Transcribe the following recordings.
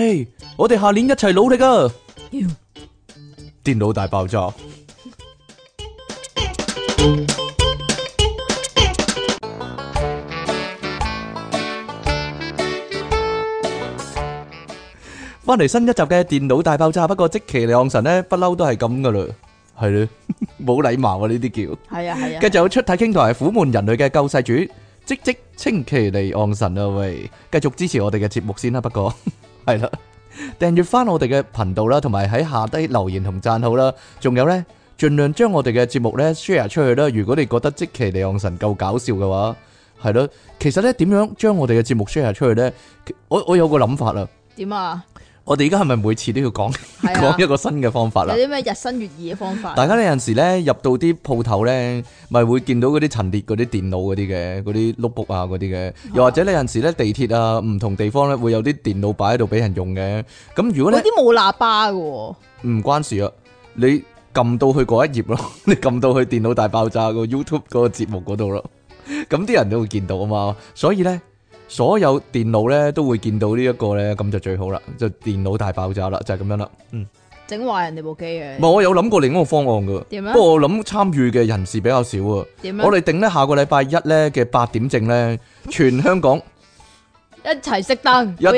，我哋下年一齊努力啊！電腦大爆炸。翻嚟新一集嘅電腦大爆炸，不過積淇離岸神咧不嬲都係咁噶啦，係咧冇禮貌啊呢啲叫。 係啊係啊。 跟住有出體傾台苦悶人類嘅救世主，積淇離岸神啊喂，繼續支持我哋嘅節目先啦。不過係啦，訂閱翻我哋嘅頻道啦，同埋喺下低留言同讚好啦。仲有咧，盡量將我哋嘅節目咧 share 出去啦。如果你覺得積淇離岸神夠搞笑嘅話，係咯。其實咧點樣將我哋嘅節目 share 出去咧？我有個諗法啦。 點啊？ 我哋而家係咪每次都要講一個新嘅方法啦？ 有啲咩日新月異嘅方法？ 大家呢有陣時咧入到啲鋪頭咧，咪會見到嗰啲陳列嗰啲電腦嗰啲嘅，嗰啲 notebook 啊嗰啲嘅，又或者呢有陣時咧地鐵啊唔同地方咧會有啲電腦擺喺度俾人用嘅。咁如果咧嗰啲冇喇叭嘅， 唔關事啊，你撳到去嗰一頁咯，你撳到去電腦大爆炸個 YouTube 嗰個節目嗰度咯，咁啲人都會見到啊嘛，所以咧。所有電腦咧都會見到呢一個咧，咁就最好啦，就電腦大爆炸啦，就係咁樣啦。 整壞人哋部機嘅。 唔係，我有諗過另一個方案噶。 點樣？ 不過我諗參與嘅人士比較少啊。 點樣？ 我哋定咧下個禮拜一咧嘅8點正咧，全香港一齊熄燈， 一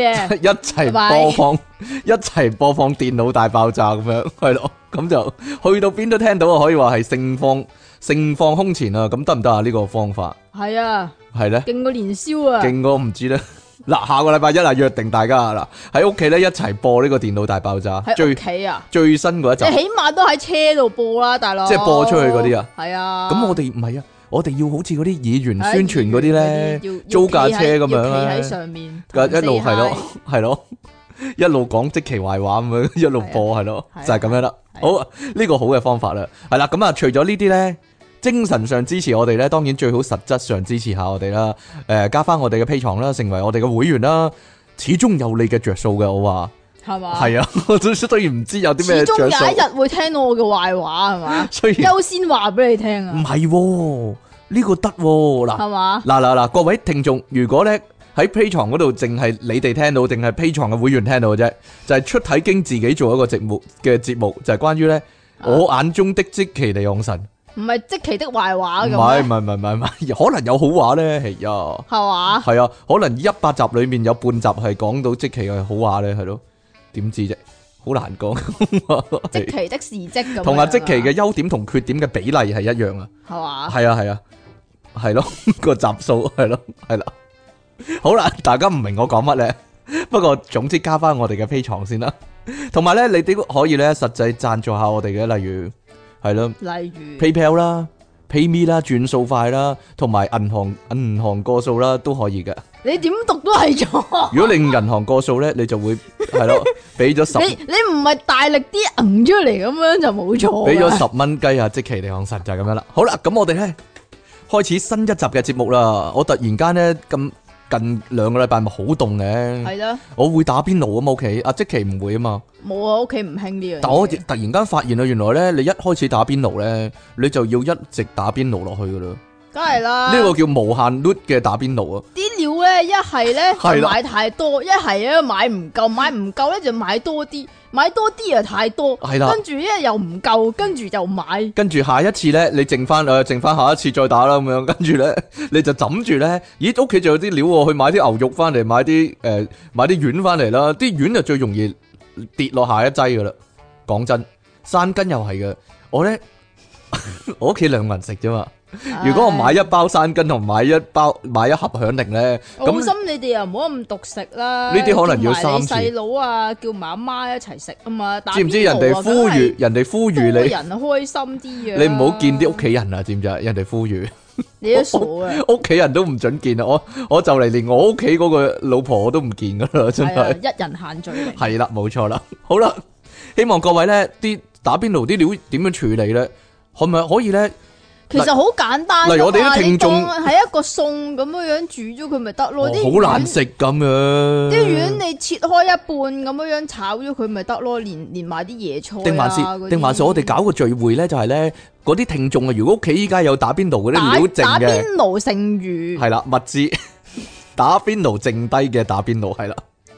齊播放電腦大爆炸咁樣，係咯，咁就去到邊都聽到啊，可以話係盛況空前啊，咁得唔得啊？呢個方法係啊， 係咧， 勁過年宵啊， 勁過唔知咧。嗱，下個禮拜一啊，約定大家嗱喺屋企咧一齊播呢個電腦大爆炸， 喺屋企啊， 最新嗰一集， 你起碼都喺車度播啦，大佬，即係播出去嗰啲啊， 係啊。 咁我哋唔係啊，我哋要好似嗰啲議員宣傳嗰啲咧，租架車咁樣咧， 喺上面， 一路係咯，一路講積淇壞話咁樣，一路播係咯，就係咁樣啦。好，呢個好嘅方法啦，係啦。咁啊，除咗呢啲咧。精神上支持我哋咧，當然最好實質上支持下我哋啦。加翻我哋嘅 Patreon啦，成為我哋嘅會員啦，始終有你嘅着數嘅，我話係嘛？係啊，我雖然唔知有啲咩着數， 始終有一日會聽到我嘅壞話係嘛？所以優先話俾你聽啊！ 唔係呢個得嗱係嘛？ 嗱，各位聽眾，如果咧喺 Patreon 嗰度淨係你哋聽到，定係 Patreon 嘅會員聽到嘅啫，就係出體經自己做一個節目，就係關於咧我眼中的積淇離岸神。 唔係積淇的壞話咁， 唔係，可能有好話咧，係啊， 係嘛？ 係啊，可能100集裏面有半集係講到積淇嘅好話咧，係咯，點知啫？好難講。 積淇的事蹟咁， 同埋積淇嘅優點同缺點嘅比例係一樣啊， 係嘛？ 係啊，係咯，個集數係咯，係啦。好啦，大家唔明我講乜咧，不過總之加翻我哋嘅 Patreon先啦，同埋咧你哋可以咧實際贊助下我哋嘅，例如。係咯， 例如 PayPal 啦、PayMe 啦、轉數快啦，同埋銀行個數啦，都可以嘅。 你點讀都係錯。 如果你銀行個數咧，你就會係咯，俾咗10。 你唔係大力啲揞出嚟咁樣就冇錯。 俾咗10蚊雞啊！積淇離岸神就係咁樣啦。好啦，咁我哋咧開始新一集嘅節目啦。我突然間咧咁。近2個禮拜咪好凍嘅，係啦。我會打邊爐啊嘛，屋企阿積淇唔會啊嘛。 冇啊，屋企唔興呢樣。 但我突然間發現啊，原來咧你一開始打邊爐咧，你就要一直打邊爐落去噶啦。梗係啦，呢個叫無限 loop 嘅打邊爐啊。啲料咧一係咧就買太多，一係咧買唔夠，買唔夠咧就買多啲。買多啲啊，太多，係啦，跟住又唔夠，跟住又買，跟住下一次咧，你剩翻下一次再打啦咁樣，跟住咧你就枕住咧，咦屋企仲有啲料喎，去買啲牛肉翻嚟，買啲丸翻嚟啦，啲丸就最容易跌落下一劑噶啦。講真，生根又係嘅，我咧我屋企2個人食啫嘛。如果我買一包生根同買一盒響鈴咧，咁好心你哋又唔好咁獨食啦。 呢啲可能要3次。 細佬啊，叫媽媽一齊食啊嘛。 知唔知人哋呼籲你？ 人開心啲啊！ 你唔好見啲屋企人啊，知唔知啊？人哋呼籲， 你都傻啊！ 屋企人都唔准見啊！我就嚟連我屋企嗰個老婆我都唔見噶啦，真係一人限聚令。 係啦，冇錯啦。好啦，希望各位咧啲打邊爐啲料點樣處理咧？係咪可以咧？ 其實好簡單， 例如我哋啲聽眾係一個餸咁樣煮咗佢咪得咯，啲好難食咁樣。 啲丸你切開一半咁樣炒咗佢咪得咯，連埋啲椰菜啊。 定還是我哋搞個聚會咧，就係咧嗰啲聽眾啊，如果屋企依家有打邊爐嗰啲料剩嘅， 打邊爐剩餘係啦，物資打邊爐剩低嘅打邊爐係啦。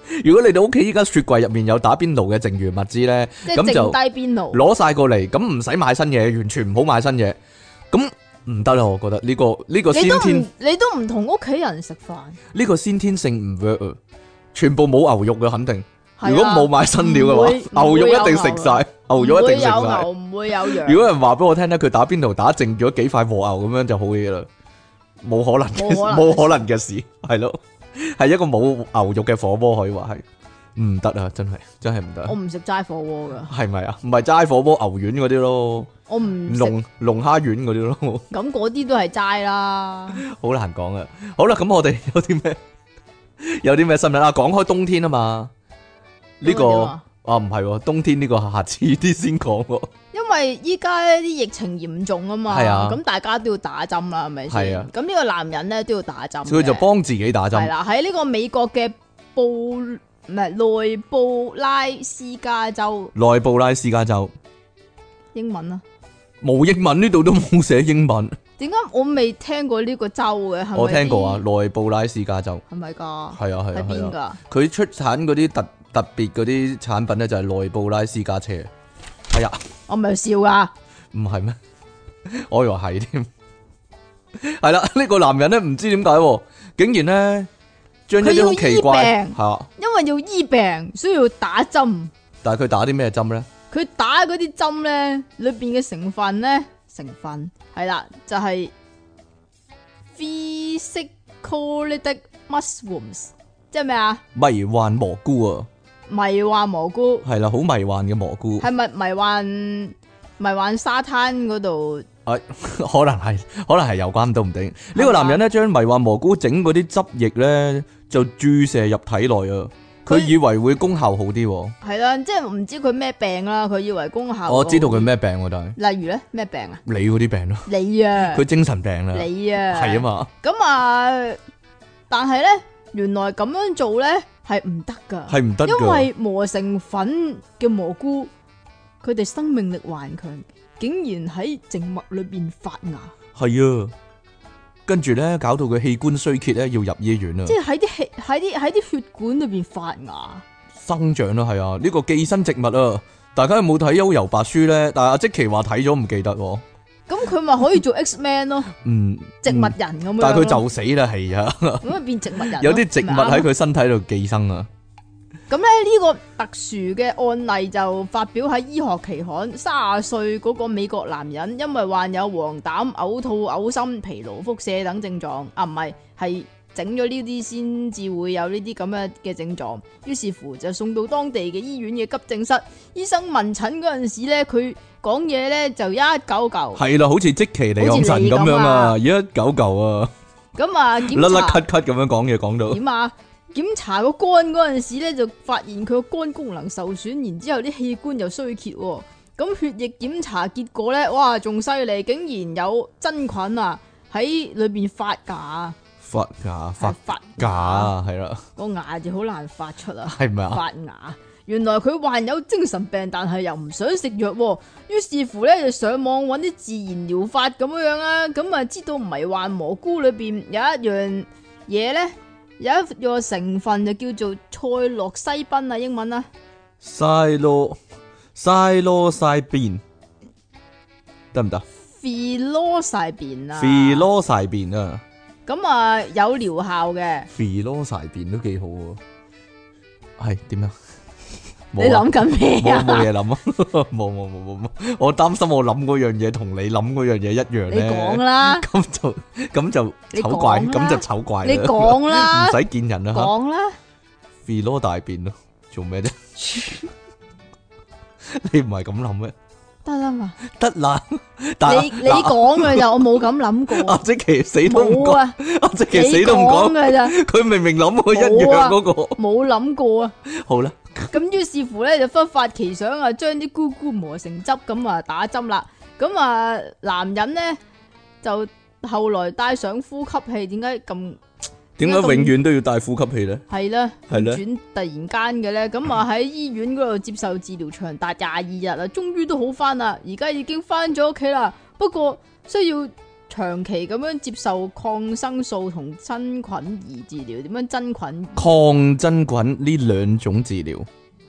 如果你哋屋企依家雪櫃入面有打邊爐嘅剩餘物資咧，咁就剩低邊爐攞晒過嚟，咁唔使買新嘢，完全唔好買新嘢，咁唔得啦！我覺得呢個先天你都唔同屋企人食飯， 呢個先天性唔 work 啊！全部冇牛肉嘅肯定，如果冇買新料嘅話，牛肉一定食晒，牛肉一定食晒， 唔會有羊。 如果有人話俾我聽咧，佢打邊爐打剩咗幾塊和牛咁樣就好嘢啦，冇可能嘅事，係咯，係一個冇牛肉嘅火鍋可以話係唔得啊！真係唔得。 我唔食齋火鍋噶， 係咪啊？唔係齋火鍋牛丸嗰啲咯， 我唔龍蝦丸嗰啲咯。 咁嗰啲都係齋啦， 好難講啊！好啦，咁我哋有啲咩新聞啊？講開冬天啊嘛，呢個唔係冬天呢個下次啲先講喎。 因為依家啲疫情嚴重啊嘛，咁大家都要打針啦，係咪先？係啊。咁呢個男人咧都要打針， 佢就幫自己打針。 係啦，喺呢個美國嘅內布拉斯加州。內布拉斯加州。英文啊？冇英文，呢度都冇寫英文。 點解我未聽過呢個州嘅？係咪？ 我聽過啊，內布拉斯加州。 係咪噶？ 係啊係啊。 喺邊噶？ 佢出產嗰啲特別嗰啲產品咧，就係內布拉斯加車。係啊。 我唔係笑噶。唔係咩？我以為係添。係啦，呢個男人咧唔知點解，竟然咧將一啲好奇怪係啊， 因為要醫病，所以要打針。 但係佢打啲咩針咧？ 佢打嗰啲針咧，裏邊嘅成分係啦，就係 Physical mushrooms， 即係咩啊？ 迷幻蘑菇啊！ 迷幻蘑菇係啦，好迷幻嘅蘑菇。 係咪迷幻沙灘嗰度？ 可能係有關都唔定。呢個男人咧將迷幻蘑菇整嗰啲汁液咧，就注射入體內啊！佢以為會功效好啲， 係啦，即係唔知佢咩病啦，佢以為功效。 我知道佢咩病，但係例如咧咩病啊？ 你嗰啲病咯， 你啊， 佢精神病啦， 你啊， 係啊嘛。 咁啊，但係咧，原來咁樣做咧係唔得噶， 係唔得， 因為磨成粉嘅蘑菇，佢哋生命力頑強，竟然喺靜脈裏邊發芽。係啊。 跟住咧，搞到佢器官衰竭咧，要入醫院啊！ 即係喺啲血管裏邊發芽生長咯，係啊！呢個寄生植物啊，大家有冇睇《幽遊白書》咧？但係阿積淇話睇咗唔記得。咁佢咪可以做 X-Man 咯？植物人咁樣。 但係佢就死啦，係啊！ 咁咪變植物人？ 有啲植物喺佢身體度寄生啊！ 咁咧呢個特殊嘅案例就發表喺醫學期刊。30歲嗰個美國男人因為患有黃疸、嘔吐、嘔心、疲勞、腹瀉等症狀，係整咗呢啲先至會有呢啲咁嘅症狀。於是乎就送到當地嘅醫院嘅急症室。醫生問診嗰陣時咧，佢講嘢咧就一嚿嚿。係啦， 好似積淇離岸神咁樣啊，一嚿嚿啊。咁啊， 檢查甩咳咳咁樣講嘢講到點啊？檢查個肝嗰陣時咧，就發現佢個肝功能受損，然之後啲器官又衰竭。咁血液檢查結果咧，哇，仲犀利，竟然有真菌啊喺裏邊發芽。發芽啊，係啦，個牙就好難發出啊，係咪啊？發芽，原來佢患有精神病，但係又唔想食藥，於是乎咧就上網揾啲自然療法咁樣啦。咁啊，知道迷幻蘑菇裏邊有一樣嘢咧。有一個成分就叫做塞洛西賓啊，英文啊， 塞洛西賓得唔得？ 菲羅西賓啊， 菲羅西賓啊， 咁啊有療效嘅， 菲羅西賓都幾好喎，係點樣？ 你諗緊咩啊？ 冇嘢諗啊！冇，我擔心我諗嗰樣嘢同你諗嗰樣嘢一樣咧。 你講啦， 咁就醜怪，咁就醜怪。 你講啦， 唔使見人啦。 講啦， 肥羅大便咯，做咩啫？你唔係咁諗咩？ 得啦嘛， 得啦。 你講嘅就我冇咁諗過。 阿積淇死都唔講啊！阿積淇死都唔講嘅咋？佢明明諗過一樣嗰個，冇諗過啊！ 好啦。 咁於是乎咧就忽發奇想啊，將啲菇菇磨成汁咁啊打針啦。咁啊男人咧就後來戴上呼吸器，點解永遠都要戴呼吸器咧？ 係啦，轉突然間嘅咧，咁啊喺醫院嗰度接受治療長達22日啊，終於都好翻啦，而家已經翻咗屋企啦。不過需要長期咁樣接受抗生素同真菌儀治療，點樣真菌？ 抗真菌呢兩種治療。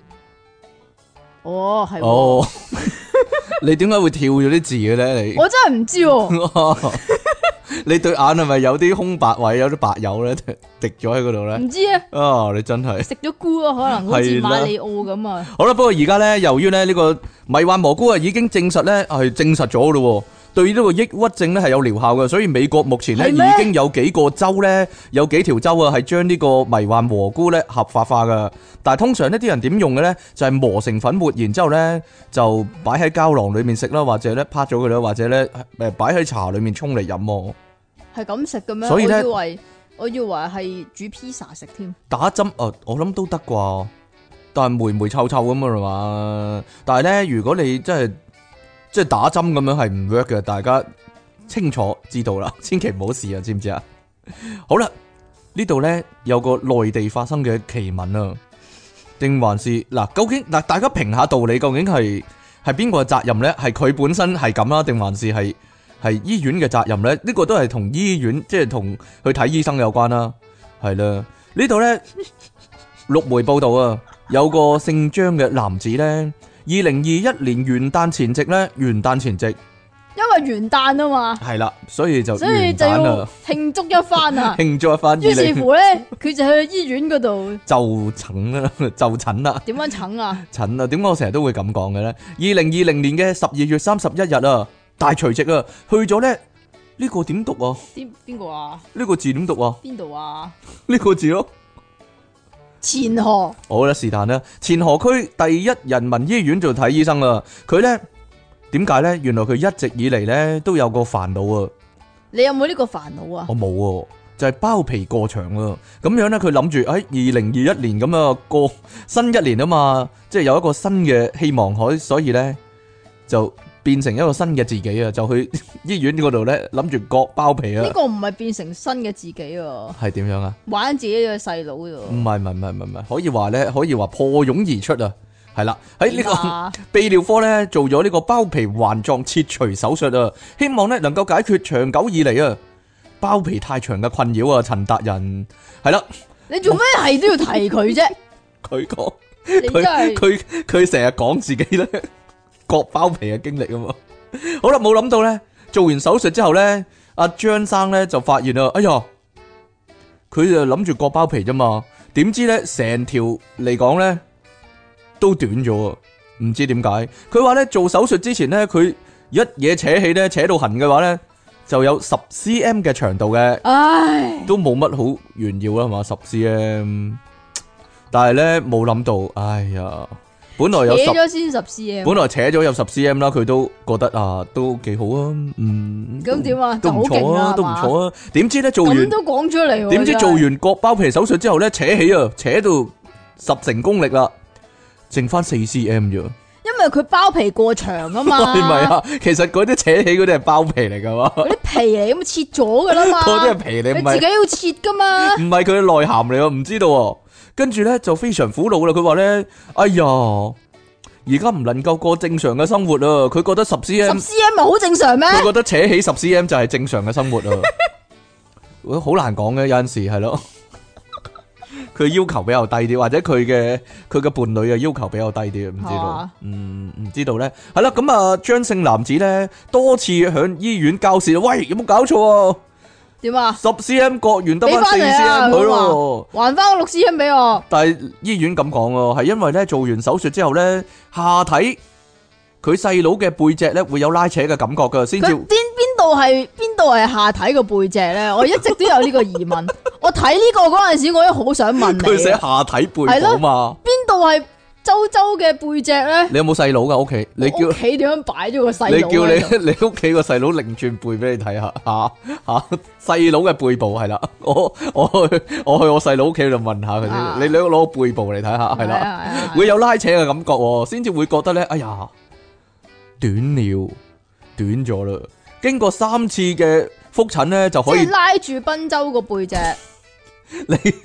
哦，係。 哦，你點解會跳咗啲字嘅咧？你我真係唔知喎。 你對眼係咪有啲空白位，有啲白油咧滴咗喺嗰度咧？ 唔知啊。 啊，你真係食咗菇啊，可能好似馬里奧咁啊。 好啦，不過而家咧，由於咧呢個迷幻蘑菇啊，已經證實咧係證實咗咯，對呢個抑鬱症咧係有療效嘅，所以美國目前咧已經有幾個州咧，有幾條州啊係將呢個迷幻蘑菇咧合法化噶。但係通常呢啲人點用嘅咧，就係磨成粉末，然之後咧就擺喺膠囊裏面食啦，或者咧拍咗佢啦，或者咧擺喺茶裏面沖嚟飲。係咁食嘅咩？ 所以咧， 我以為係煮披薩食添。 打針我諗都得啩，但係霉臭臭咁啊嘛。但係咧，如果你真係即係打針咁樣係唔 work 嘅，大家清楚知道啦，千祈唔好試啊，知唔知啊？好啦，呢度咧有個內地發生嘅奇聞啊，定還是嗱？究竟嗱，大家評下道理，究竟係邊個嘅責任咧？係佢本身係咁啦，定還是係醫院嘅責任咧？呢個都係同醫院即係同去睇醫生有關啦。係啦，呢度咧陸媒報道啊，有個姓張嘅男子咧。2021年元旦前夕咧，因為元旦啊嘛， 係啦，所以就要慶祝一番啊， 慶祝一番。 於是乎咧，佢就去醫院嗰度就診啦。點樣診啊？ 診啊？點解我成日都會咁講嘅咧？2020年嘅12月31日啊，大除夕啊，去咗咧呢個點讀啊？ 邊個啊？ 呢個字點讀啊？ 邊度啊？ 呢個字咯。 前河好啦，是但啦。前河區第一人民醫院做睇醫生啦。佢咧點解咧？原來佢一直以嚟咧都有個煩惱啊。 你有冇呢個煩惱啊？ 我冇喎，就係包皮過長啊。咁樣咧，佢諗住喺2021年咁啊過新一年啊嘛，即係有一個新嘅希望，所以咧就變成一個新嘅自己啊，就去醫院嗰度咧諗住割包皮啊。 呢個唔係變成新嘅自己啊， 係點樣啊？ 玩自己嘅細佬啫。唔係，可以話破蛹而出啊。係啦，喺呢個泌尿科咧做咗呢個包皮環狀切除手術啊，希望咧能夠解決長久以嚟啊包皮太長嘅困擾啊。陳達仁係啦， 你做咩係都要提佢啫？ 佢講， 佢成日講自己咧割包皮嘅經歷啊嘛。好啦，冇諗到咧做完手術之後咧，阿張生咧就發現啦，哎呀，佢就諗住割包皮啫嘛，點知咧成條嚟講咧都短咗啊！唔知點解，佢話咧做手術之前咧，佢一嘢扯起咧，扯到痕嘅話咧，就有10 cm 嘅長度嘅， 唉， 都冇乜好炫耀啦，係嘛10 cm，但係咧冇諗到，哎呀，本來有扯咗先10 cm， 本來扯咗有10 cm 啦，佢都覺得啊都幾好啊， 咁點啊， 都唔錯啊，都唔錯啊，點知咧做完咁都講出嚟， 點知做完割包皮手術之後咧，扯起啊，扯到10成功力啦。剩翻4 cm 啫， 因為佢包皮過長啊嘛。 係咪啊？其實嗰啲扯起嗰啲係包皮嚟噶嘛？ 嗰啲皮嚟咁切咗噶啦嘛。 嗰啲係皮嚟， 你自己要切噶嘛？ 唔係佢嘅內涵嚟啊，唔知道。跟住咧就非常苦惱啦。佢話咧，哎呀，而家唔能夠過正常嘅生活啊。佢覺得10 cm 咪好正常咩？佢覺得扯起10 cm 就係正常嘅生活啊。好難講嘅，有陣時係咯。佢要求比較低啲，或者佢嘅伴侶嘅要求比較低啲，唔知道，唔知道咧。係啦，咁啊，張姓男子咧多次向醫院交涉，喂，有冇搞錯啊？ 點啊 ？10 cm 割完得翻4 cm 佢咯， 還翻個6 cm 俾我。 但係醫院咁講喎，係因為咧做完手術之後咧，下體佢細佬嘅背脊咧會有拉扯嘅感覺噶，先至。 邊度係下體個背脊咧？我一直都有呢個疑問。我睇呢個嗰陣時，我都好想問你。 佢寫下體背部嘛？ 邊度係周嘅背脊咧？ 你有冇細佬噶屋企？你叫屋企點樣擺咗個細佬？ 你叫你屋企個細佬擰轉背俾你睇下吓細佬嘅背部係啦。我去我細佬屋企度問下佢先。你攞個背部嚟睇下係啦，會有拉扯嘅感覺，先至會覺得咧，哎呀，短咗啦。經過3次嘅複診咧，就可以即係拉住賓州個背脊。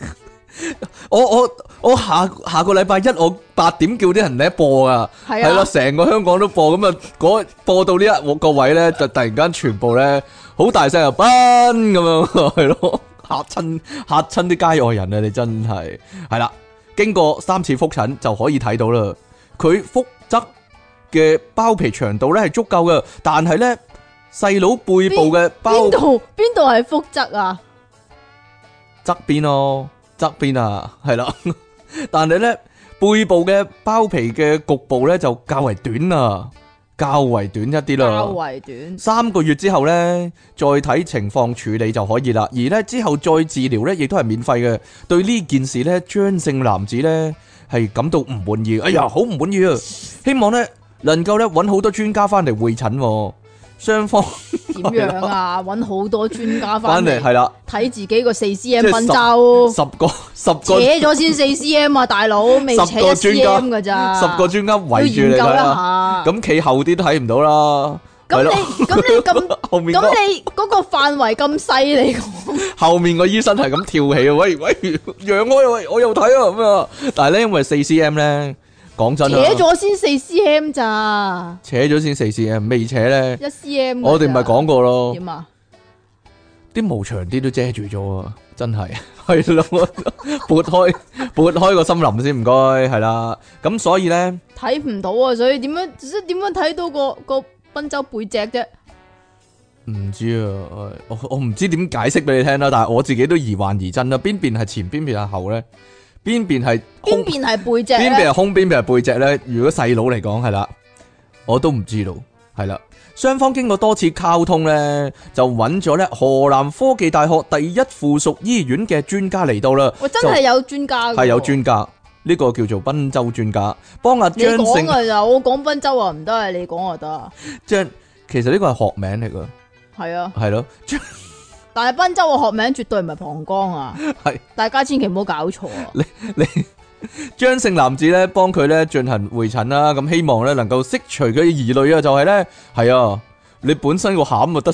我下個禮拜一我8點叫啲人咧播啊，係啦，成個香港都播，咁啊播到呢一個位咧，就突然間全部咧好大聲啊，崩咁樣係咯，嚇親啲街外人啊！你真係啦，經過3次覆診就可以睇到啦，佢腹側嘅包皮長度咧係足夠嘅，但係咧細佬背部嘅邊度係腹側啊？ 側邊咯，側邊啊，係啦。但係咧背部嘅包皮嘅局部咧就較為短啊，較為短一啲啦。較為短。3個月之後咧，再睇情況處理就可以啦。而咧之後再治療咧，亦都係免費嘅。對呢件事咧，張姓男子咧係感到唔滿意。哎呀，好唔滿意啊！希望咧能夠咧揾好多專家翻嚟會診。雙方點樣啊？揾好多專家翻嚟， 係啦， 睇自己個4cm 賓周 ，10個扯咗先4cm啊，大佬未扯1cm噶咋 ？10個專家圍住你睇下，咁企後啲都睇唔到啦。 咁你嗰個範圍咁細嚟講， 後面個醫生係咁跳起啊！喂，讓開喂，我又睇啊咁啊！但係咧，因為4cm 咧。講真啊， 扯咗先4cm 咋？ 扯咗先4cm，未扯咧 1cm。 我哋唔係講過咯？ 點啊？ 啲毛長啲都遮住咗啊！真係係咯，撥開個森林先，唔該，係啦。咁所以咧睇唔到啊，所以點樣睇到個賓周背脊啫？ 唔知啊，我唔知點解釋俾你聽啦。但係我自己都疑幻疑真啦。邊邊係前，邊邊係後咧？邊邊係背脊？邊邊係胸？邊邊係背脊咧？如果細佬嚟講係啦，我都唔知道。係啦，雙方經過多次溝通咧，就揾咗咧河南科技大學第一附屬醫院嘅專家嚟到啦。 我真係有專家， 係有專家，呢個叫做賓周專家，幫阿張姓。 你講啊，我講賓周啊唔得啊，你講就得。 其實呢個係學名嚟噶。係啊， 係咯。 但係賓周嘅學名絕對唔係膀胱啊！係，大家千祈唔好搞錯啊！ 你張姓男子咧幫佢咧進行會診啦，咁希望咧能夠釋除佢嘅疑慮啊！就係咧，係啊，你本身個餡就得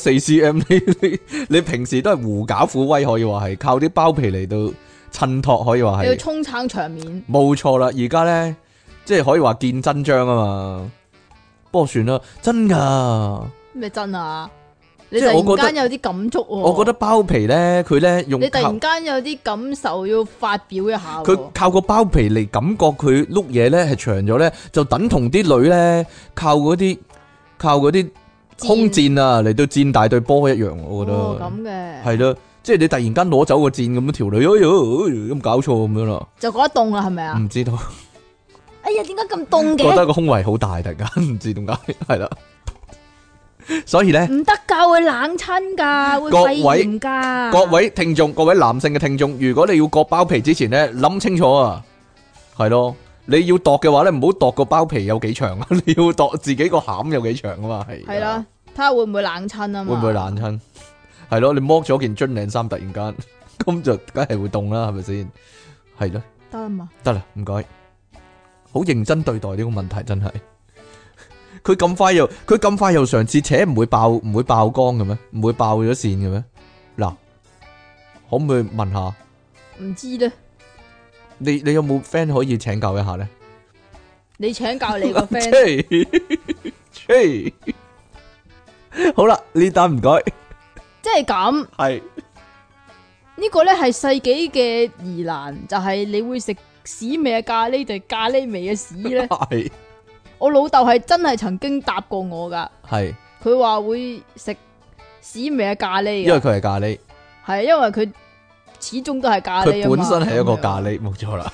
4cm，你平時都係狐假虎威，可以話係靠啲包皮嚟到襯托，可以話係。 你要衝撐場面。冇錯啦，而家咧即係可以話見真章啊嘛！不過算啦，真噶咩真啊？你突然間有啲感觸喎， 我覺得包皮咧，佢咧用你突然間有啲感受要發表一下， 佢靠個包皮嚟感覺佢碌嘢咧係長咗咧，就等同啲女咧靠嗰啲胸墊啊嚟到墊大對波一樣，我覺得咁嘅係咯，即係你突然間攞走個墊咁樣，條女咁搞錯咁樣啦， 就覺得凍啦係咪啊？ 唔知道， 哎呀，點解咁凍嘅？ 覺得個胸圍好大，突然間唔知點解，係啦。所以咧唔得噶，會冷親噶，會肺炎噶。 各位聽眾，各位男性嘅聽眾，如果你要割包皮之前咧，諗清楚啊，係咯，你要度嘅話咧，唔好度個包皮有幾長啊，你要度自己個餡有幾長啊嘛，係。 係啦，睇下會唔會冷親啊嘛。 會唔會冷親？係咯，你剝咗件樽領衫，突然間咁就梗係會凍啦，係咪先？係咯。 得啦嘛。 得啦，唔該。好認真對待呢個問題，真係。佢咁快又嘗試扯，唔會爆光嘅咩？唔會爆咗線嘅咩？嗱，可唔可以問下？ 唔知咧。 你有冇 friend 可以請教一下咧？ 你請教你個 friend。 好啦，呢單唔該。 即係咁。 係。 呢個咧係世紀嘅疑難，就係你會食屎味嘅咖喱定咖喱味嘅屎咧？係。我老豆係真係曾經答過我噶，係佢話會食屎味嘅咖喱， 因為佢係咖喱， 係因為佢始終都係咖喱， 佢本身係一個咖喱，冇錯啦。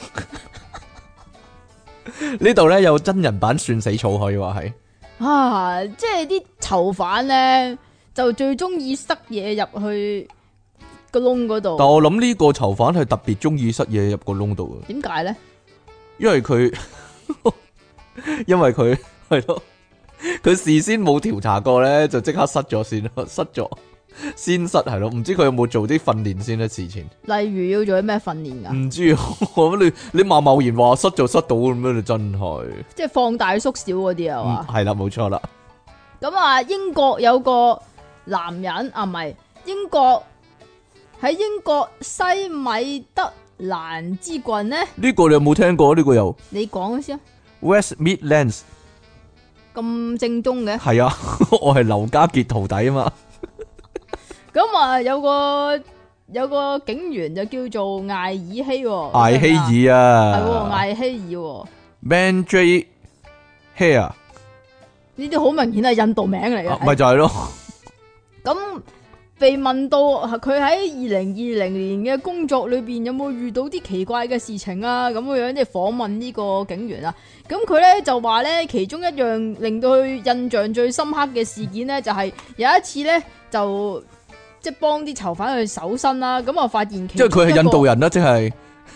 呢度咧有真人版算死草，可以話係啊，即係啲囚犯咧就最中意塞嘢入去個窿嗰度。 但我諗呢個囚犯係特別中意塞嘢入個窿度嘅， 點解咧？ 因為佢。因為佢係咯，佢事先冇調查過咧，就即刻塞咗先咯，塞咗先塞係咯，唔知佢有冇做啲訓練先咧？事前例如要做啲咩訓練噶？ 唔知你貿然話塞就塞到咁樣，你真係即係放大縮小嗰啲啊嘛？ 係啦，冇錯啦。 咁啊，英國有個男人啊，唔係英國喺英國西米德蘭之郡呢？ 呢個你有冇聽過？呢個又你講先啊。 West Midlands 咁正宗嘅。 係啊，我係劉家傑徒弟啊嘛。 咁啊，有個警員就叫做艾爾希喎。 艾希爾啊， 係喎，艾希爾。 Mandrake Hair 呢啲好明顯係印度名嚟嘅。 咪就係咯。 咁被問到佢喺2020年嘅工作裏邊有冇遇到啲奇怪嘅事情啊？咁樣即係訪問呢個警員啊。咁佢咧就話咧，其中一樣令到佢印象最深刻嘅事件咧，就係有一次咧就即係幫啲囚犯去搜身啦。咁啊發現即係佢係印度人啦，即係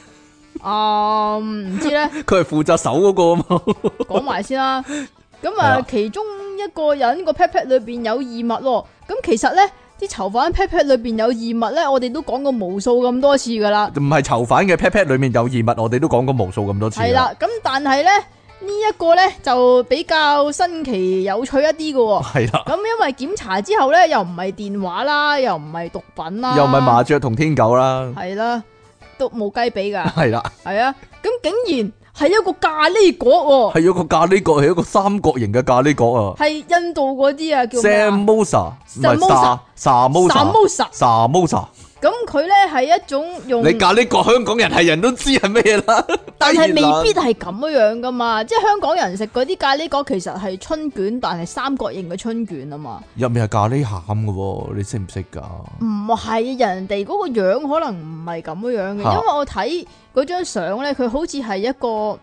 唔知咧。 佢係負責搜嗰個啊嘛。 講埋先啦。咁啊，其中一個人個 pat pat 裏邊有異物喎。咁其實咧，啲囚犯 pat pat 裏邊有異物咧，我哋都講過無數咁多次噶啦。 唔係囚犯嘅 pat pat 裏面有異物，我哋都講過無數咁多次。 係啦，咁但係咧呢一個咧就比較新奇有趣一啲嘅。係啦。咁因為檢查之後咧，又唔係電話啦，又唔係毒品啦， 又唔係麻雀同天狗啦。 係啦，都冇雞髀噶。 係啦。係啊，咁竟然係一個咖喱角喎。 係一個咖喱角，係一個三角形嘅咖喱角啊。 係印度嗰啲啊，叫咩啊 Samosa 唔係 Samosa。咁佢咧係一種用你咖喱角，香港人係人都知係咩啦。 但係未必係咁樣噶嘛，即係香港人食嗰啲咖喱角其實係春卷，但係三角形嘅春卷啊嘛。 入面係咖喱餡噶，你識唔識噶？ 唔係，人哋嗰個樣可能唔係咁樣嘅，因為我睇嗰張相咧，佢好似係一個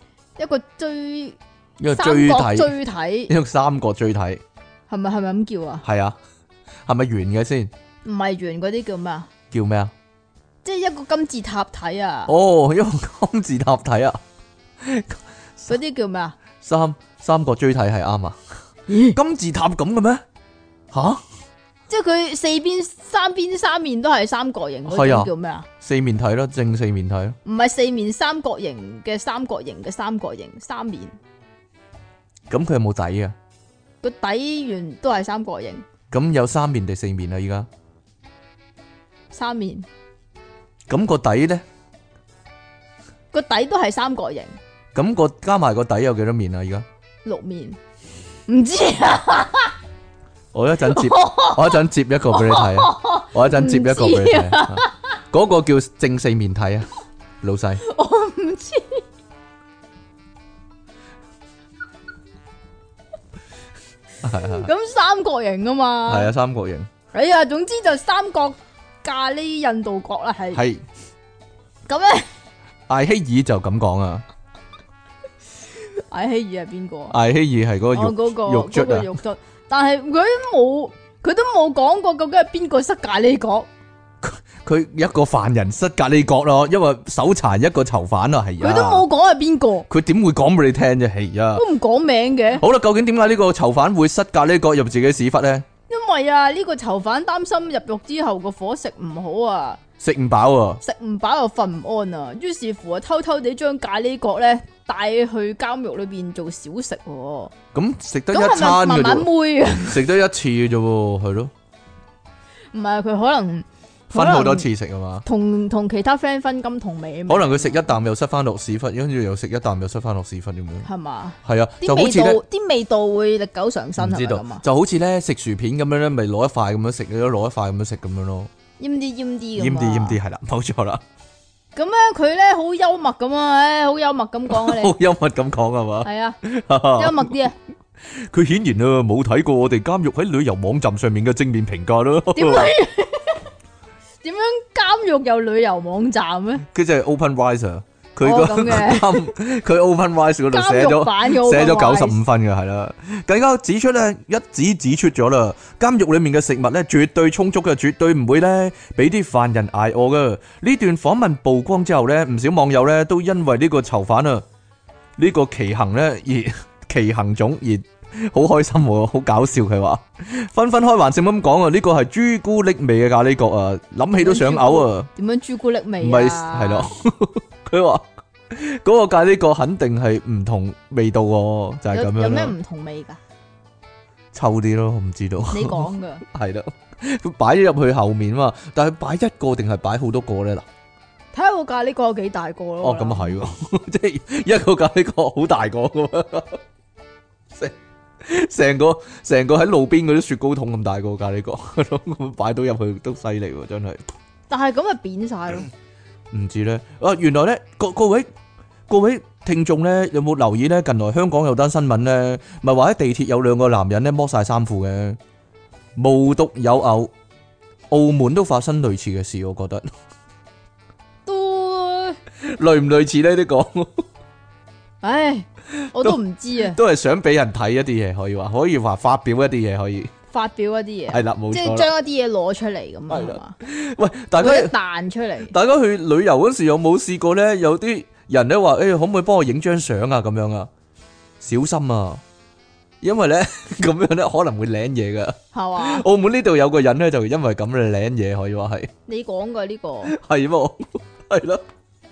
三角錐體， 一個三角錐體， 係咪咁叫啊？ 係啊，係咪圓嘅先？ 唔係圓嗰啲叫咩啊？ 叫咩啊？ 即係一個金字塔體啊！ 哦，一個金字塔體啊！ 嗰啲叫咩啊？ 三角錐體係啱啊！金字塔咁嘅咩？吓？ 即係佢三面都係三角形嗰啲叫咩啊？ 四面體咯，正四面體咯。 唔係四面三角形嘅三角形嘅三角形，三面。 咁佢有冇底啊？ 個底緣都係三角形。 咁有三面定四面啊？而家三面。咁個底咧？ 個底都係三角形。 咁加埋個底有幾多面啊？而家 6面。唔知啊。 我一陣接一個俾你睇啊！我一陣接一個俾你睇。嗰個叫正四面體啊，老細。 我唔知。咁三角形啊嘛。 係啊，三角形。 哎呀，總之就三角咖喱印度角啦，係。係。咁咧？ 艾希爾就咁講啊。 艾希爾係邊個？ 艾希爾係嗰個肉卒啊。但係佢都冇講過究竟係邊個塞咖喱角。 佢一個犯人塞咖喱角咯，因為搜查一個囚犯啊，係啊。 佢都冇講係邊個。佢點會講俾你聽啫？係啊。 都唔講名嘅。好啦，究竟點解呢個囚犯會塞咖喱角入自己屎忽咧？ 因為啊，呢個囚犯擔心入獄之後個伙食唔好啊， 食唔飽啊， 食唔飽又瞓唔安啊，於是乎啊，偷偷地將咖喱角咧帶去監獄裏邊做小食。 咁食得一餐嘅啫， 慢慢妹啊， 食得一次嘅啫，係咯。 唔係，佢可能分好多次食啊嘛， 同其他 friend 分金同味。 可能佢食一啖又塞翻落屎忽，跟住又食一啖又塞翻落屎忽咁樣。 係嘛？ 係啊，就好似啲味道會歷久常新。 唔知道，就好似咧食薯片咁樣咧，咪攞一塊咁樣食，攞一塊咁樣食咁樣咯。 醃啲醃啲係啦，冇錯啦。 咁咧佢咧好幽默咁啊，好幽默咁講啊，你好幽默咁講係嘛？ 係啊，幽默啲啊。 佢顯然啊冇睇過我哋監獄喺旅遊網站上面嘅正面評價咯。 點樣監獄有旅遊網站咧？ 佢就係 OpenRice，佢 OpenRice 嗰度寫咗95分嘅係啦。更加指出咧，指出咗啦，監獄裏面嘅食物咧絕對充足嘅，絕對唔會咧俾啲犯人挨餓嘅。呢段訪問曝光之後咧，唔少網友咧都因為呢個囚犯啊呢個奇行種而好開心，好搞笑。佢話紛紛開玩笑咁講啊，呢個係朱古力味嘅咖喱角啊，諗起都想嘔啊！ 點樣朱古力味啊？ 唔係係咯，佢話嗰個咖喱角肯定係唔同味道，就係咁樣。 有咩唔同味噶？ 臭啲咯，我唔知道。 你講噶係咯，佢擺咗入去後面嘛，但係擺一個定係擺好多個咧？嗱， 睇下個咖喱角有幾大個咯。 哦，咁啊係喎，即係一個咖喱角好大個噶嘛，成個喺路邊嗰啲雪糕筒咁大個咖喱角，擺到入去都犀利喎，真係。 但係咁咪扁晒咯。 唔知咧，原來咧各位聽眾咧，有冇留意咧？近來香港有單新聞咧，咪話喺地鐵有兩個男人咧剝晒衫褲嘅，無獨有偶，澳門都發生類似嘅事，我覺得都類唔類似咧？呢個， 唉，我都唔知啊。 都係想俾人睇一啲嘢，可以話發表一啲嘢，可以發表一啲嘢， 係啦，冇錯，即係將一啲嘢攞出嚟咁啊嘛。 喂，大家彈出嚟， 大家去旅遊嗰時有冇試過咧？有啲人咧話，可唔可以幫我影張相啊？咁樣啊，小心啊！因為咧咁樣咧可能會領嘢噶，係嘛？澳門呢度有個人咧就因為咁嚟領嘢，可以話係。你講嘅呢個係喎，係咯。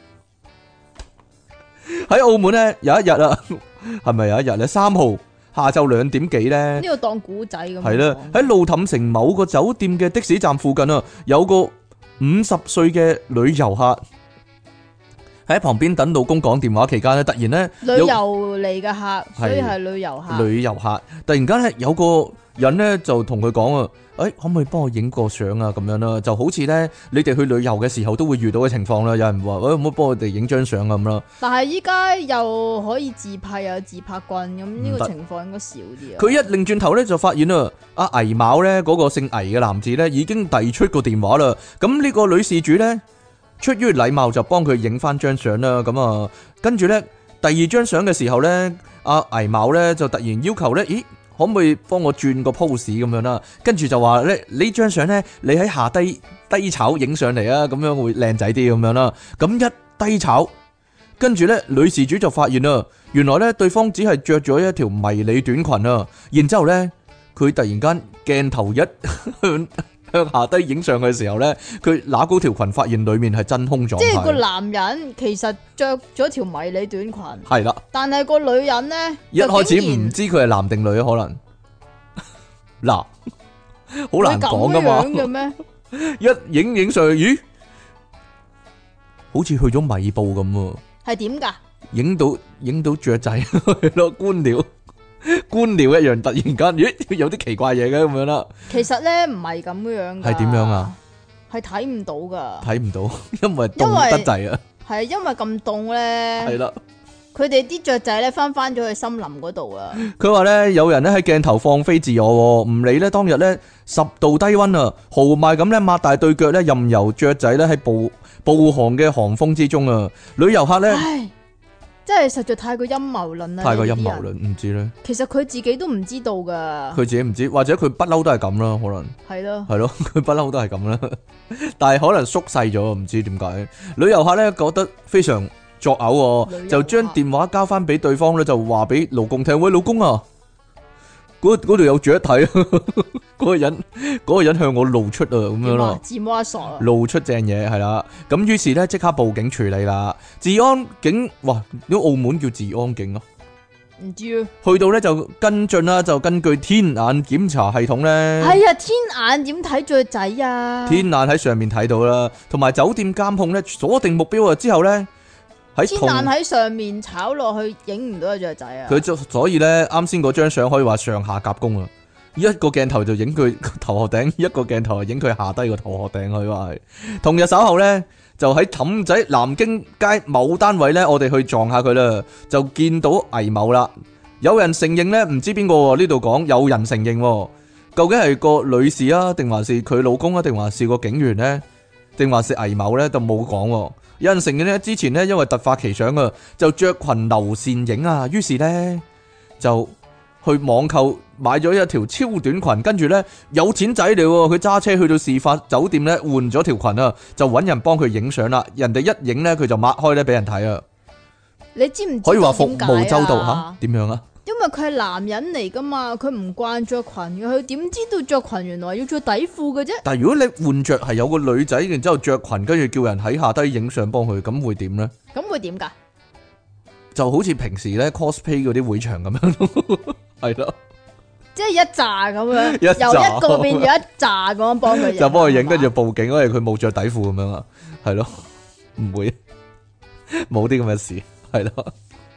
喺澳門咧有一日啊，係咪有一日咧？3號下晝2點幾咧？呢個當古仔咁。係啦，喺路氹城某個酒店嘅的士站附近啊，有個50歲嘅女遊客。喺旁邊等老公講電話期間咧，突然咧旅遊嚟嘅客，所以係旅遊客。旅遊客突然間咧有個人咧就同佢講啊，可唔可以幫我影個相啊？咁樣啦，就好似咧你哋去旅遊嘅時候都會遇到嘅情況啦。有人話，可唔可以幫我哋影張相咁啦？但係依家又可以自拍又有自拍棍，咁呢個情況應該少啲啊。佢一擰轉頭咧就發現啊，阿倪某咧嗰個姓倪嘅男子咧已經遞出個電話啦。咁呢個女事主咧，出於禮貌就幫佢影翻張相啦，咁啊，跟住咧第二張相嘅時候咧，阿倪某咧就突然要求咧，咦，可唔可以幫我轉個 pose 咁樣啦？跟住就話咧呢張相咧，你喺下低炒影上嚟啊，咁樣會靚仔啲咁樣啦。咁一低炒，跟住咧女事主就發現啦，原來咧對方只係着咗一條迷你短裙啊，然之後咧佢突然間鏡頭一向下低影上去嘅時候咧，佢拿高條裙，發現裏面係真空狀態。即係個男人其實着咗條迷你短裙，係啦。但係個女人咧，一開始唔知佢係男定女啊，可能嗱，好難講噶嘛。咁樣嘅咩？一影上去，咦，好似去咗米埔咁啊！係點噶？影到雀仔咯，觀鳥。觀鳥一樣，突然間咦有啲奇怪嘢嘅咁樣啦。其實咧唔係咁樣噶。係點樣啊？係睇唔到噶。睇唔到，因為凍得滯啊。係因為咁凍咧。係啦。佢哋啲雀仔咧翻咗去森林嗰度啊。佢話咧有人咧喺鏡頭放飛自我，唔理咧當日咧10度低溫啊，豪邁咁咧擘大對腳咧任由雀仔咧喺暴寒嘅寒風之中啊。女遊客咧。真係實在太過陰謀論啦！太過陰謀論，唔知咧。其實佢自己都唔知道噶。佢自己唔知，或者佢不嬲都係咁啦，可能。係咯。係咯，佢不嬲都係咁啦。但係可能縮細咗，唔知點解。女遊客咧覺得非常作嘔，就將電話交翻俾對方咧，就話俾老公聽：喂，老公啊，嗰度有雀睇啊！嗰個人向我露出啊，咁樣咯，自摸一索啊，露出正嘢係啦。咁於是咧即刻報警處理啦。治安警，哇！呢澳門叫治安警啊？唔知啊。去到咧就跟進啦，就根據天眼檢查系統咧。係啊，天眼點睇雀仔啊？天眼喺上面睇到啦，同埋酒店監控咧鎖定目標啊之後咧。天眼喺上面炒落去，影唔到隻雀仔啊！佢所以咧，啱先嗰張相可以話上下夾攻啊！一個鏡頭就影佢頭殼頂，一個鏡頭就影佢下低個頭殼頂。佢話係同日稍後咧，就喺氹仔南京街某單位咧，我哋去撞下佢啦，就見到倪某啦。有人承認咧，唔知邊個呢度講，有人承認，究竟係個女士啊，定還是佢老公啊，定還是個警員咧，定還是倪某咧，就冇講。有人承認咧，之前咧因為突發奇想啊，就着裙留倩影啊，於是咧就去網購買咗一條超短裙，跟住咧有錢仔嚟，佢揸車去到事發酒店咧換咗條裙啊，就揾人幫佢影相啦。人哋一影咧，佢就擘開咧俾人睇啊。你知唔知可以話服務周到吓？點樣啊？因為佢係男人嚟噶嘛，佢唔慣着裙嘅，佢點知道着裙原來要着底褲嘅啫？但係如果你換着係有個女仔，然之後着裙，跟住叫人喺下低影相幫佢，咁會點咧？咁會點噶？就好似平時咧 cosplay 嗰啲會場咁樣，係咯，即係一紮咁樣，由一個變咗一紮咁樣幫佢影，就幫佢影，跟住報警，因為佢冇着底褲咁樣啊，係咯。 唔會，冇啲咁嘅事，係咯。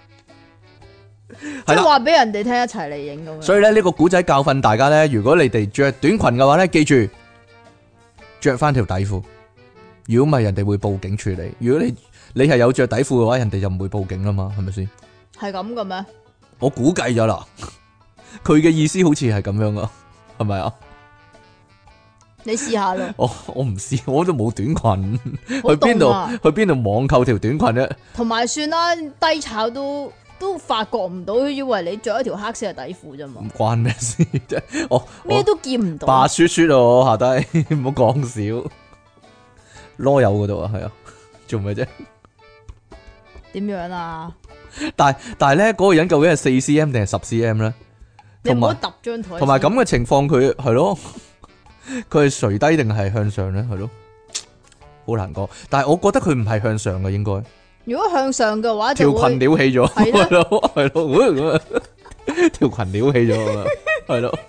即係話俾人哋聽一齊嚟影咁樣。 所以咧呢個古仔教訓大家咧，如果你哋着短裙嘅話咧，記住着翻條底褲。如果唔係，人哋會報警處理。如果你係有着底褲嘅話，人哋就唔會報警啦嘛，係咪先？係咁嘅咩？我估計咗啦，佢嘅意思好似係咁樣啊，係咪啊？你試下咯。我唔試，我都冇短裙，去邊度網購條短裙啫？同埋算啦，低炒都發覺唔到，以為你着一條黑色嘅底褲啫嘛。唔關咩事啫，咩都見唔到。白雪雪啊，我下低唔好講笑。囉柚嗰度啊，係啊，做咩啫？點樣啊？但係咧，嗰個人究竟係4cm 定係10cm 咧？你唔好揼張台。同埋咁嘅情況，佢係咯，佢係垂低定係向上咧？係咯，好難講。但係我覺得佢唔係向上嘅，應該。如果向上嘅話，條裙撩起咗，係咯，係咯，條裙撩起咗，係咯，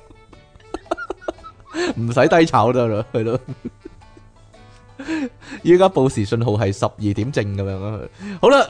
唔使低炒得啦，係咯。依家報時信號係12點正咁樣啊，好啦，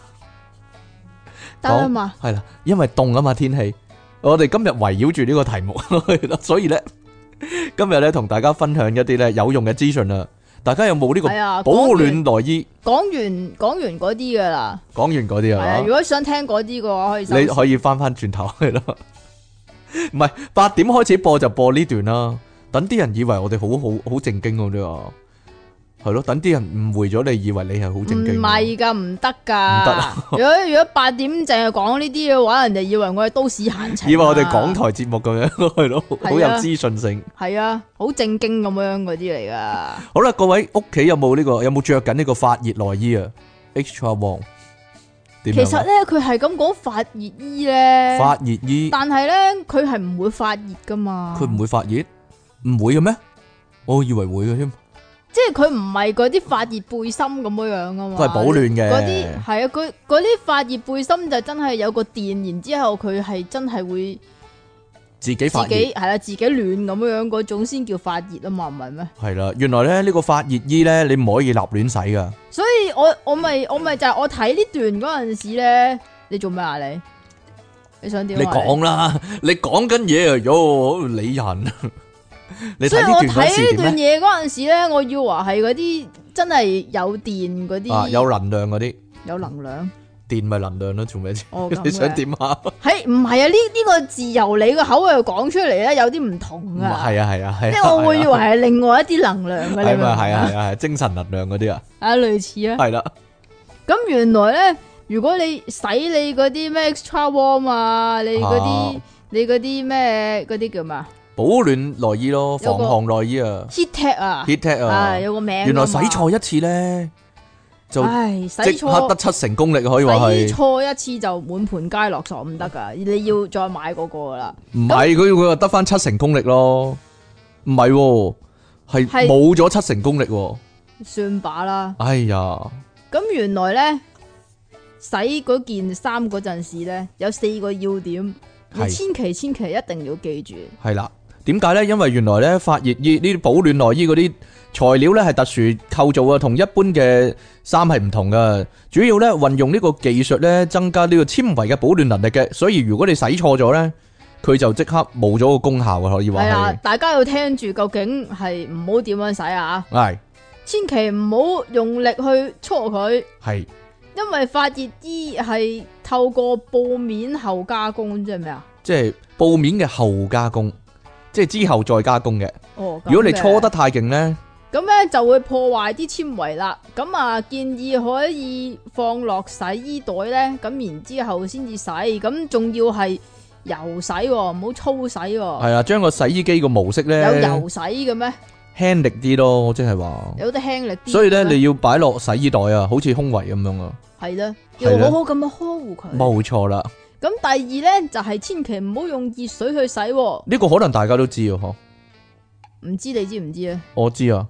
得啊嘛，係啦，因為凍啊嘛天氣，我哋今日圍繞住呢個題目，所以咧今日咧同大家分享一啲咧有用嘅資訊啊，大家有冇呢個保暖內衣？講完嗰啲噶啦，講完嗰啲啊，如果想聽嗰啲嘅話，你可以翻轉頭係咯，唔係8點開始播就播呢段啦，等啲人以為我哋好正經嗰啲啊。係咯，等啲人誤會咗你，以為你係好正經。唔係噶，唔得噶。唔得啊！如果8點淨係講呢啲嘅話，人哋以為我係都市閒情。以為我哋港台節目咁樣，係咯，好有資訊性。係啊，好正經咁樣嗰啲嚟噶。好啦，各位屋企有冇着緊呢個發熱內衣啊 ？Extra warm。其實咧，佢係咁講發熱衣咧。發熱衣。但係咧，佢係唔會發熱噶嘛。佢唔會發熱？唔會嘅咩？我以為會嘅添。即係佢唔係嗰啲發熱背心咁樣啊嘛，佢係保暖嘅。嗰啲係啊，佢嗰啲發熱背心就真係有個電，然之後佢係真係會自己發熱，係啦，自己暖咁樣嗰種先叫發熱啊嘛，唔係咩？係啦，原來咧呢個發熱衣咧，你唔可以立亂洗噶。所以我咪就係我睇呢段嗰陣時咧，你做咩啊你想點？你講啦，你講緊嘢啊，喲理人。所以我睇呢段嘢嗰陣時咧，我以為係嗰啲真係有電嗰啲，有能量嗰啲，有能量，電咪能量咯，做咩啫？你想點啊？係唔係啊？呢個字由你個口度講出嚟咧，有啲唔同啊！係啊，即係我會以為係另外一啲能量嘅，你明唔明？係啊，精神能量嗰啲啊，類似啊，係啦。咁原來咧，如果你洗你嗰啲咩 extra warm 啊，你嗰啲咩嗰啲叫咩？保暖內衣咯，防寒內衣啊 ，Heattech 啊 ，Heattech 啊，有個名。原來洗錯一次咧，就即刻得7成功力，可以話係。洗錯一次就滿盤皆落索唔得噶，你要再買嗰個噶啦。唔係佢話得翻7成功力咯，唔係，係冇咗7成功力。算把啦。哎呀，咁原來咧洗嗰件衫嗰陣時咧，有4個要點，你千祈一定要記住。係啦。點解咧？因為原來咧發熱衣呢啲保暖內衣嗰啲材料咧係特殊構造啊，同一般嘅衫係唔同噶。主要咧運用呢個技術咧，增加呢個纖維嘅保暖能力嘅。所以如果你洗錯咗咧，佢就即刻冇咗個功效嘅，可以話係。係啊，大家要聽住，究竟係唔好點樣洗啊？係，千祈唔好用力去搓佢。係，因為發熱衣係透過布面後加工，即係咩啊？即係布面嘅後加工。即係之後再加工嘅。哦，如果你搓得太勁咧，咁咧就會破壞啲纖維啦。咁啊，建議可以放落洗衣袋咧，咁然之後先至洗。咁仲要係油洗，唔好粗洗。係啊，將個洗衣機個模式咧，有油洗嘅咩？輕力啲咯，即係話有得輕力啲。所以咧，你要擺落洗衣袋啊，好似胸圍咁樣啊。係啦，要好好咁樣呵護佢。冇錯啦。咁第二咧就係千祈唔好用熱水去洗，呢個可能大家都知啊，嗬？唔知你知唔知啊？我知啊，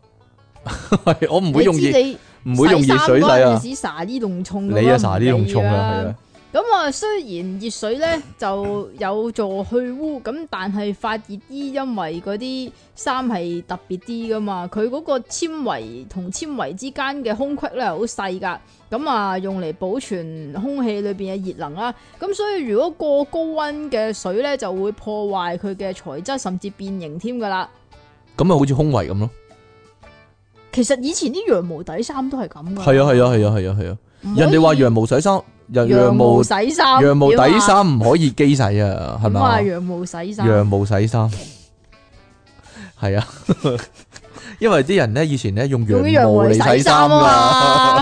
我唔會用熱水洗啊。你啊，搽啲用沖啊，係啊。咁咁啊，雖然熱水咧就有助去污，咁但係發熱衣因為嗰啲衫係特別啲噶嘛，佢嗰個纖維同纖維之間嘅空隙咧係好細噶，咁啊用嚟保存空氣裏邊嘅熱能啦。咁所以如果過高溫嘅水咧，就會破壞佢嘅材質，甚至變形添噶啦。 咁咪好似胸圍咁咯。 其實以前啲羊毛底衫都係咁噶。 係啊，人哋話羊毛洗衫。 羊毛洗衫， 羊毛底衫唔可以機洗啊，係咪啊？ 羊毛洗衫， 羊毛洗衫，係啊，因為啲人咧以前咧用羊毛嚟洗衫噶，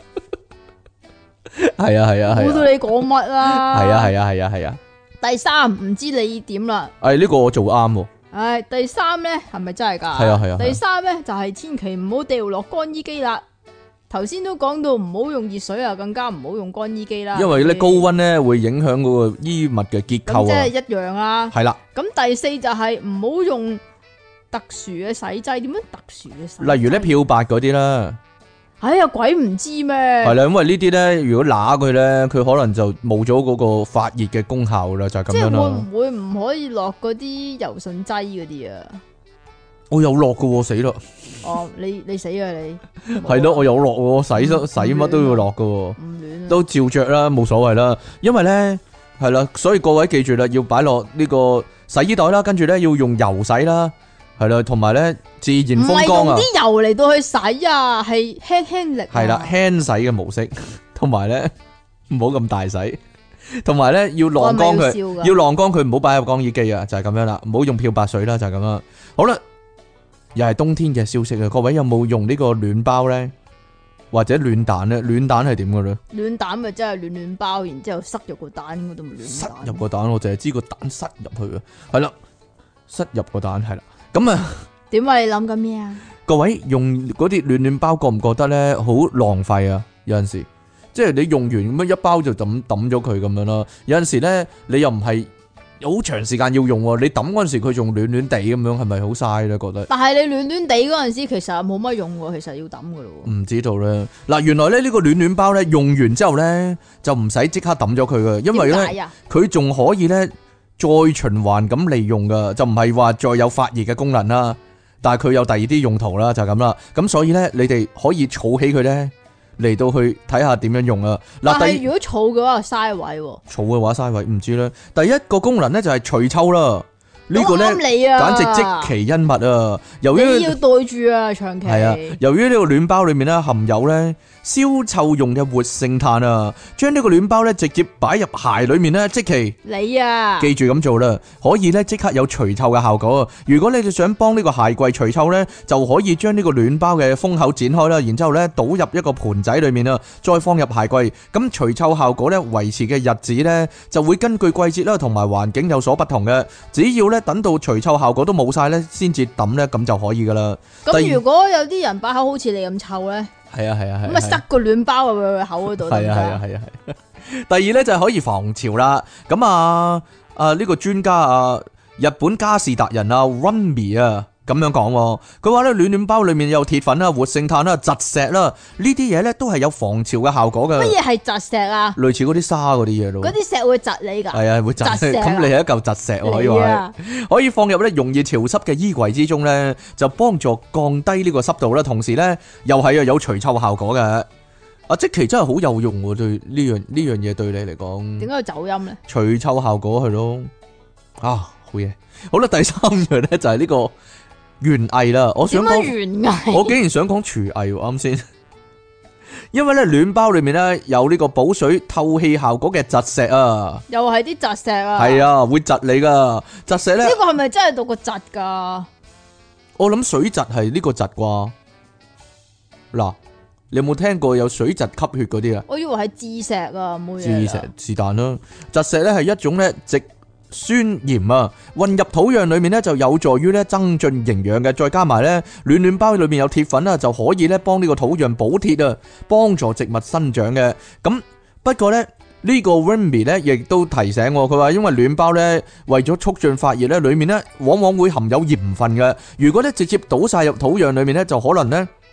係啊，估到你講乜啦？ 係啊。 第三唔知你點啦？ 呢個我做啱喎。 第三咧係咪真係噶？ 係啊。 第三咧就係千祈唔好掉落乾衣機啦。頭先都講到唔好用熱水啊，更加唔好用乾衣機啦。 因為咧高溫咧會影響嗰個衣物嘅結構啊。 即係一樣啦。係啦。 咁第四就係唔好用特殊嘅洗劑。點樣特殊嘅洗劑？ 例如咧漂白嗰啲啦。 哎呀，鬼唔知咩？ 係啦，因為呢啲咧，如果揦佢咧，佢可能就冇咗嗰個發熱嘅功效啦，就係咁樣啦。即係會唔可以落嗰啲柔順劑嗰啲啊？ 我有落噶，死啦！ 你死啊你！ 係咯，我有落，洗乜都要落噶，唔亂都照着啦，冇所謂啦。因為咧係啦，所以各位記住啦，要擺落呢個洗衣袋啦，跟住咧要用油洗啦，係啦，同埋咧自然風乾啊。唔係用啲油嚟到去洗啊，係輕輕力。 係啦，輕洗嘅模式，同埋咧唔好咁大洗，同埋咧要晾乾佢，要晾乾佢，唔好擺入乾衣機啊，就係咁樣啦，唔好用漂白水啦，就係咁啦。好啦。又係冬天嘅消息啊！各位有冇用呢個暖包咧，或者暖蛋咧？暖蛋係點嘅咧？ 暖蛋咪真係暖包，然之後塞入個蛋嗰度咪暖蛋。 塞入個蛋，我淨係知個蛋塞入去啊！係啦，塞入個蛋係啦。咁啊， 點啊？你諗緊咩啊？ 各位用嗰啲暖包覺唔覺得咧好浪費啊？有陣時，即係你用完咁樣一包就抌咗佢咁樣啦。有陣時咧，你又唔係。有好長時間要用喎，你抌嗰陣時佢仲暖暖地咁樣，係咪好嘥咧？覺得？但係你暖暖地嗰陣時，其實冇乜用喎，其實要抌噶咯。唔知道咧，嗱，原來咧呢個暖暖包咧用完之後咧就唔使即刻抌咗佢嘅，因為咧佢仲可以咧再循環咁利用噶，就唔係話再有發熱嘅功能啦，但係佢有第二啲用途啦，就係咁啦。咁所以咧，你哋可以儲起佢咧。嚟到去睇下點樣用啊！嗱，但係如果儲嘅話嘥位喎，儲嘅話嘥位唔知啦。第一個功能咧就係除臭啦，呢個咧簡直積淇恩物啊！由於你要袋住啊，長期係啊，由於呢個暖包裏面咧含有咧消臭用嘅活性炭啊，將呢個暖包咧直接擺入鞋裏面咧，積淇你啊，記住咁做啦，可以咧即刻有除臭嘅效果。如果你哋想幫呢個鞋櫃除臭咧，就可以將呢個暖包嘅封口剪開啦，然之後咧倒入一個盤仔裏面啊，再放入鞋櫃。咁除臭效果咧維持嘅日子咧就會根據季節啦同埋環境有所不同嘅。只要咧等到除臭效果都冇晒咧，先至抌咧咁就可以噶啦。咁如果有啲人把口好似你咁臭咧？係啊，咁啊塞個暖包入佢口嗰度。係啊。第二咧就係可以防潮啦。咁呢個專家日本家事達人Rumi 咁樣講，佢話咧暖包裏面有鐵粉啦、活性炭啦、窒石啦，呢啲嘢咧都係有防潮嘅效果嘅。乜嘢係窒石啊？類似嗰啲沙嗰啲嘢咯。嗰啲石會窒你噶？係啊，會窒。咁你係一嚿窒石可以話，可以放入咧容易潮濕嘅衣櫃之中咧，就幫助降低呢個濕度啦。同時咧又係有除臭效果嘅。積淇真係好有用喎，對呢樣嘢對你嚟講。點解要走音咧？除臭效果係咯。好嘢。好啦，第三樣咧就係呢個園藝啦，我想講園藝，我竟然想講廚藝啱先，因為咧暖包裏面咧有呢個補水透氣效果嘅窒石啊，又係啲窒石啊，係啊，會窒你噶窒石咧，呢個係咪真係讀個窒噶？我諗水蛭係呢個窒啩。嗱，你有冇聽過有水蛭吸血嗰啲啊？我以為係蛭石啊，冇嘢。蛭石是但啦，窒石咧係一種咧直酸鹽啊，混入土壤裏面咧就有助於咧增進營養嘅，再加埋咧暖包裏面有鐵粉啊，就可以咧幫呢個土壤補鐵啊，幫助植物生長嘅。咁不過咧呢個 Remy 咧亦都提醒我，佢話因為暖包咧為咗促進發熱咧，裏面咧往往會含有鹽分嘅，如果咧直接倒晒入土壤裏面咧，就可能咧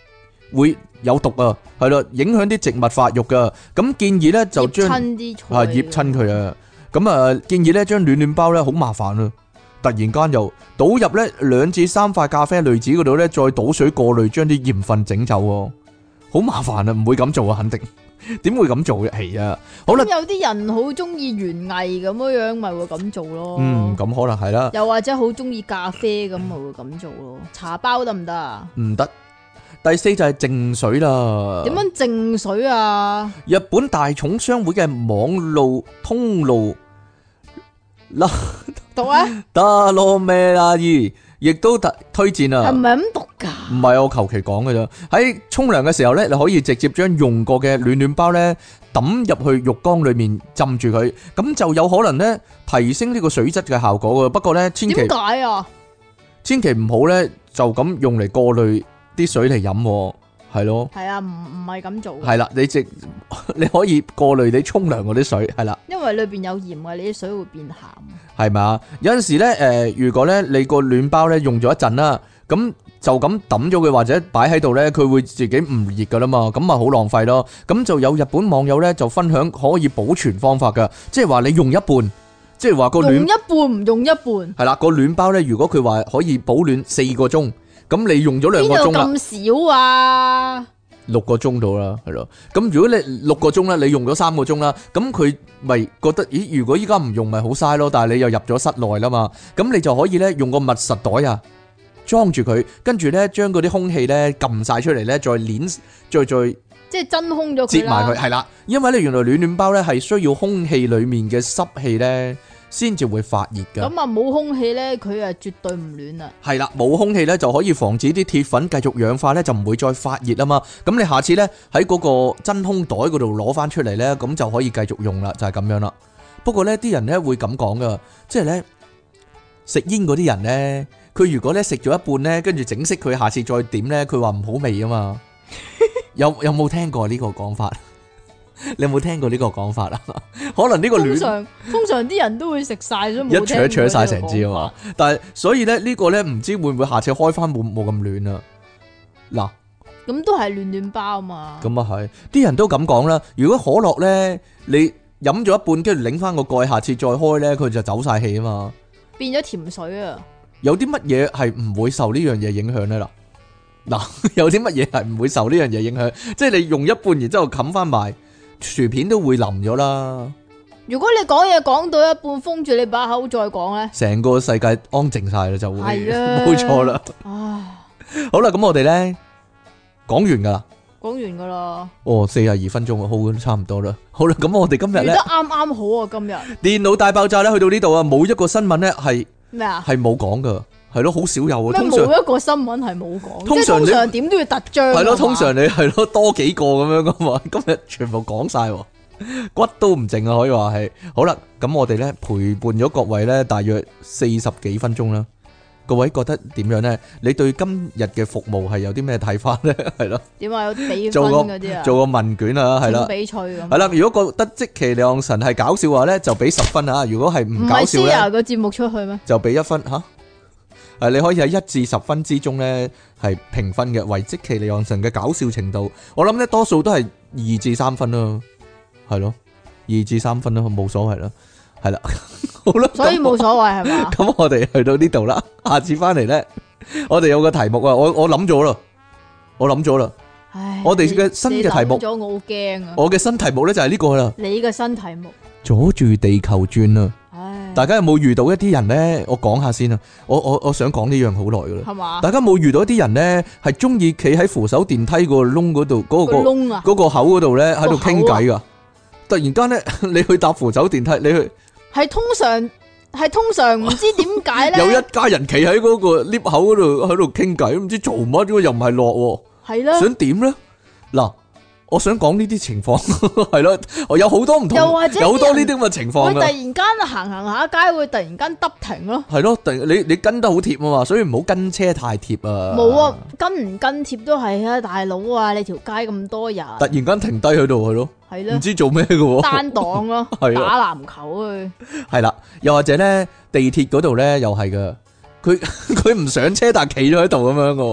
會有毒啊，係咯，影響啲植物發育噶。咁建議咧就將醃親佢啊。咁啊建議咧將暖暖包咧好麻煩啊，突然間又倒入咧2至3塊咖啡濾紙嗰度咧，再倒水過濾，將啲鹽分整走。好麻煩啊，唔會咁做啊，肯定。點會咁做嘅？係啊，好啦。 有啲人好中意園藝咁樣，咪會咁做咯。 咁可能係啦。 又或者好中意咖啡咁，咪會咁做咯。茶包得唔得啊？ 唔得。第4就係淨水啦。 點樣淨水啊？ 日本大塚商會嘅網路通路啦， 讀啊， 得咯咩啦伊。亦都推薦啊， 係唔係咁讀噶？ 唔係，我求其講嘅啫。喺沖涼嘅時候咧，你可以直接將用過嘅暖暖包咧抌入去浴缸裏面浸住佢，咁就有可能咧提升呢個水質嘅效果嘅。不過咧，千祈點解啊？ 千祈唔好咧就咁用嚟過濾啲水嚟飲，係咯。 係啊，唔係咁做。 係啦，你可以過濾你沖涼嗰啲水，係啦。 因為裏邊有鹽啊，你啲水會變鹹。 係咪？有陣時咧，如果咧你個暖包咧用咗一陣啦，咁就咁抌咗佢或者擺喺度咧，佢會自己唔熱噶啦嘛，咁咪好浪費咯。咁就有日本網友咧就分享可以保存方法噶，即係話你用一半，即係話個暖用一半唔用一半。係啦，個暖包咧，如果佢話可以保暖4個鐘，咁你用咗2個鐘啦。邊度咁少啊 ？6個鐘到啦，係咯。咁如果你6個鐘啦，你用咗3個鐘啦，咁佢咪覺得，咦？如果依家唔用咪好嘥咯，但係你又入咗室內啦嘛，咁你就可以咧用個密實袋啊裝住佢，跟住咧將嗰啲空氣咧撳晒出嚟咧，再捻再即係真空咗佢， 接埋佢，係啦。因為咧原來暖暖包咧係需要空氣裏面嘅濕氣咧先至會發熱噶。 咁啊冇空氣咧，佢啊絕對唔暖啦。 係啦，冇空氣咧就可以防止啲鐵粉繼續氧化咧，就唔會再發熱啊嘛。咁你下次咧喺嗰個真空袋嗰度攞翻出嚟咧，咁就可以繼續用啦，就係咁樣啦。不過咧啲人咧會咁講噶，即係咧食煙嗰啲人咧，佢如果咧食咗一半咧，跟住整熄佢，下次再點咧，佢話唔好味啊嘛。有冇聽過呢個講法？你有冇聽過呢個講法啊？可能呢個通常啲人都會食晒，所以一扯晒成支啊嘛。但係所以咧呢個咧唔知會唔會下次開翻冇咁暖啊？嗱， 咁都係暖包啊嘛。 咁啊係，啲人都咁講啦。如果可樂咧，你飲咗一半，跟住擰翻個蓋，下次再開咧，佢就走晒氣啊嘛， 變咗甜水啊。 有啲乜嘢係唔會受呢樣嘢影響咧？嗱，有啲乜嘢係唔會受呢樣嘢影響？即係你用一半，然之後冚翻埋。薯片都會淋咗啦。 如果你講嘢講到一半封住你把口再講咧， 成個世界安靜晒啦，就會係啊， 冇錯啦。好啦，咁我哋咧講完噶啦， 講完噶啦。 哦，42分鐘啊，好，差唔多啦。好啦，咁我哋今日咧， 得啱啱好啊，今日電腦大爆炸咧，去到呢度啊，冇一個新聞咧係咩啊？ 係冇講噶。係咯，好少有啊。通常冇一個新聞係冇講，通常點都要特章。 係咯，通常你係咯多幾個咁樣噶嘛。今日全部講晒，骨都唔剩啊，可以話係。好啦，咁我哋咧陪伴咗各位咧大約40幾分鐘啦。各位覺得點樣咧？你對今日嘅服務係有啲咩睇法咧？係咯？ 點啊？有比分嗰啲啊？ 做個問卷啊，係啦。 比賽咁。係啦，如果覺得積淇離岸神係搞笑話咧，就俾10分啊。如果係唔搞笑咧， 唔係個節目出去咩？ 就俾1分吓。你可以喺1至10分之中咧係評分嘅，為積淇離岸神嘅搞笑程度。我諗咧多數都係2至3分咯，係咯，2至3分咯，冇所謂啦，係啦，好啦， 所以冇所謂係嘛？ 咁我哋去到呢度啦，下次翻嚟咧，我哋有個題目啊，我諗咗啦， 唉， 我哋嘅新嘅題目， 咗我好驚啊！ 我嘅新題目咧就係呢個啦， 你嘅新題目， 阻住地球轉啊！ 唉， 大家有冇遇到一啲人咧？我講下先啊，我想講呢樣好耐噶啦， 係嘛？大家冇遇到一啲人咧係中意企喺扶手電梯個窿嗰度，嗰個窿啊，嗰個口嗰度咧喺度傾偈噶。突然間咧，你去搭扶手電梯，你去係通常唔知點解咧？ 有一家人企喺嗰個 lift 口嗰度喺度傾偈，唔知做乜，又唔係落， 係啦， 想點咧？嗱。我想講呢啲情況係咯，我有好多唔同，有好多呢啲咁嘅情況。 會突然間行下街，會突然間急停咯。 係咯，你跟得好貼啊嘛，所以唔好跟車太貼啊。 冇啊，跟唔跟貼都係啊，大佬啊，你條街咁多人， 突然間停低喺度係咯， 係咯， 唔知做咩嘅， 單擋咯，打籃球啊。 係啦，又或者咧，地鐵嗰度咧又係噶，佢唔上車但係企咗喺度咁樣嘅。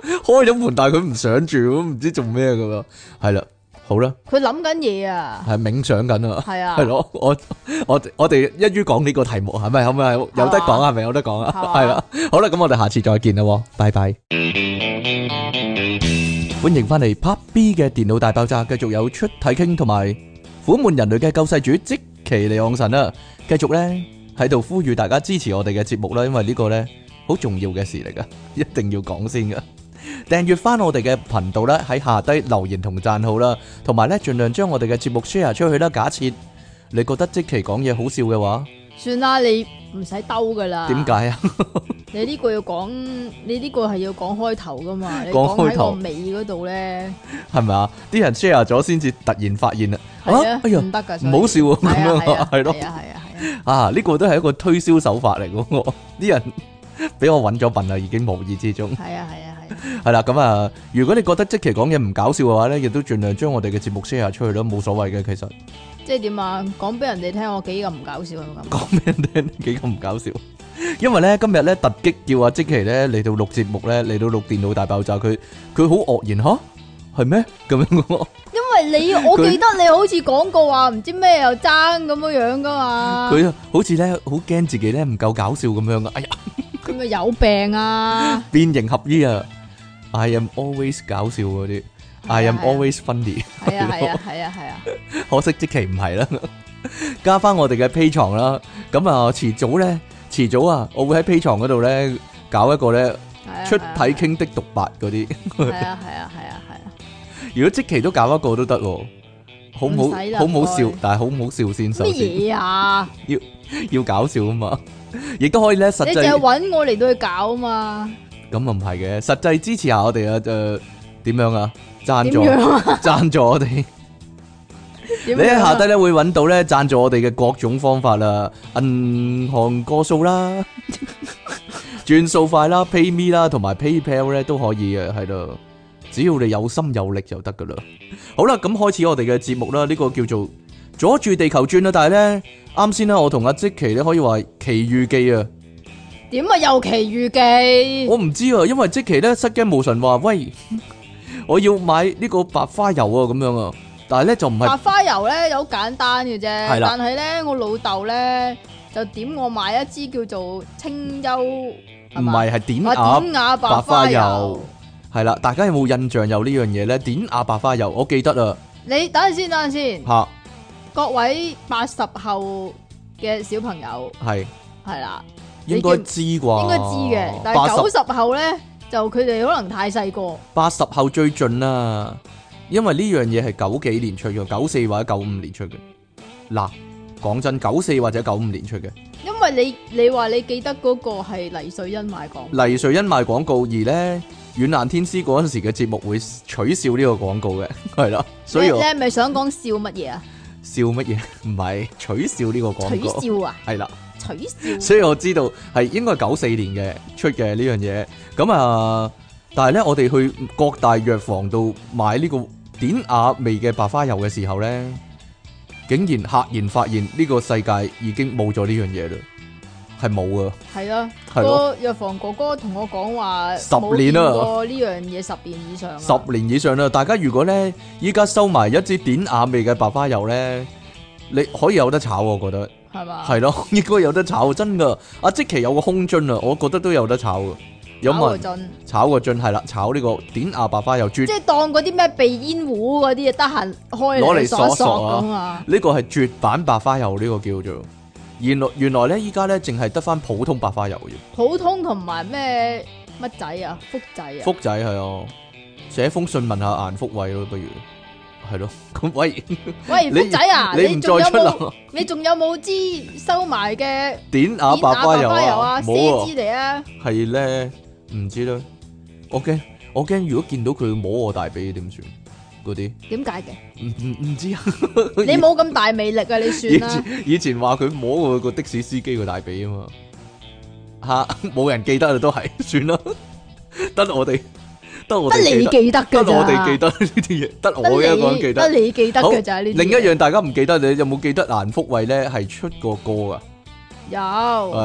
開咗門，但係佢唔上住，唔知做咩噶喎。係啦，好啦， 佢諗緊嘢啊， 係冥想緊啊， 係啊， 係咯，我哋一於講呢個題目，係咪？可唔可以有得講？係咪有得講啊？係啦，好啦，咁我哋下次再見啦，拜拜。歡迎翻嚟 Part B 嘅電腦大爆炸，繼續有出體 king 同埋苦悶人類嘅救世主積淇離岸神啦，繼續咧喺度呼籲大家支持我哋嘅節目啦，因為呢個咧好重要嘅事嚟噶，一定要講先噶。訂閱翻我哋嘅頻道啦，喺下低留言同讚好啦，同埋咧盡量將我哋嘅節目 share 出去啦。假設你覺得積淇講嘢好笑嘅話， 算啦，你唔使兜噶啦。 點解啊？ 你呢個要講，你呢個係要講開頭噶嘛？你講喺個尾嗰度咧， 係咪啊？啲人 share 咗先至突然發現啊！ 係啊， 哎呀， 唔得噶， 唔好笑啊！咁樣係咯， 係啊， 啊呢個都係一個推銷手法嚟嘅喎，啲人俾我揾咗笨啦，已經無意之中。 係啊。 係啦，咁啊，如果你覺得積淇講嘢唔搞笑嘅話咧，亦都盡量將我哋嘅節目 share 出去咯，冇所謂嘅，其實。即係點啊？講俾人哋聽我幾咁唔搞笑咁。 講俾人聽幾咁唔搞笑，因為咧今日咧突擊叫阿積淇咧嚟到錄節目咧，嚟到錄電腦大爆炸，佢好愕然吓，係咩咁樣？因為我記得你好似講過話唔知咩又爭咁樣噶嘛。佢好似咧好驚自己咧唔夠搞笑咁樣噶，哎呀， 佢咪有病啊？變形合一啊！I am always 搞笑嗰啲，I am always funny。 係啊。 可惜積淇唔係啦，加翻我哋嘅 P 床啦。咁啊，遲早啊，我會喺 P 床嗰度咧搞一個咧出體 king 的獨白嗰啲。係啊。如果積淇都搞一個都得，好唔好笑？但係好唔好笑先？首先乜嘢啊？ 要搞笑啊嘛，亦都可以咧實際。你就搵我嚟到去搞啊嘛。 咁啊唔係嘅，實際支持下我哋啊，點樣啊？贊助我哋。你喺下低咧會揾到咧贊助我哋嘅各種方法啦，銀行個數啦，轉數快啦 ，PayMe 啦，同埋 PayPal 咧都可以嘅，係咯，只要你有心有力就得噶啦。好啦，咁開始我哋嘅節目啦，呢個叫做阻住地球轉啦，但係咧啱先咧我同阿積淇咧可以話奇遇記啊。 點啊？又奇遇記？ 我唔知啊，因為積淇咧失驚無神話，喂，我要買呢個白花油啊，咁樣啊，但係咧就唔係白花油咧，就好簡單嘅啫。 係啦， 但係咧我老豆咧就點我買一支叫做清幽，唔係典雅白花油。係啦，大家有冇印象有呢樣嘢咧？典雅白花油，我記得啊。 你等陣先。 吓， 各位80後嘅小朋友係啦。 應該知啩， 應該知嘅，但係90後咧就佢哋可能太細個。80 後最盡啦，因為呢樣嘢係90幾年出嘅，94或者95年出嘅。嗱，講真，94或者95年出嘅。 因為你話你記得嗰個係黎瑞恩賣廣告， 黎瑞恩賣廣告，而咧軟爛天師嗰陣時嘅節目會取笑呢個廣告嘅，係啦。所以你係咪想講笑乜嘢啊？ 笑乜嘢？唔係取笑呢個廣告。 取笑啊？ 係啦。 取笑， 所以我知道係應該94年嘅出嘅呢樣嘢，咁啊，但係咧我哋去各大藥房度買呢個典雅味嘅白花油嘅時候咧，竟然赫然發現呢個世界已經冇咗呢樣嘢啦，係冇啊。係啊， 個藥房哥哥同我講話 10年啦， 呢樣嘢10年以上 ，10年以上啦。大家如果咧依家收埋一支典雅味嘅白花油咧，你可以有得炒，我覺得。 係嘛？ 係咯，應該有得炒，真噶。阿積淇有個空樽啊，我覺得都有得炒噶。有冇人炒個樽？係啦，炒呢個典雅白花油絕， 即係當嗰啲咩鼻煙壺嗰啲啊，得閒開攞嚟索索啊。 呢個係絕版白花油，呢個叫做。原來咧，依家咧淨係得翻普通白花油嘅。 普通同埋咩乜仔啊？福仔啊？ 福仔係啊，寫封信問下顏福慧咯，不如。係咯，咁喂， 福仔啊， 你唔再出啦？ 你仲有冇支收埋嘅典雅白花油啊？ 冇啊，寫支嚟啊！ 係咧，唔知啦。我驚，如果見到佢摸我大髀點算？嗰啲點解嘅？ 唔知啊！ 你冇咁大魅力啊！你算啦。 以前話佢摸個的士司機個大髀啊嘛，吓冇人記得啦，都係算啦，得我哋。得你記得嘅， 得我哋記得呢啲嘢，得我一個人記得， 得你記得嘅就係呢啲。 另一樣大家唔記得，你有冇記得顏福慧咧係出過歌噶？ 有， 係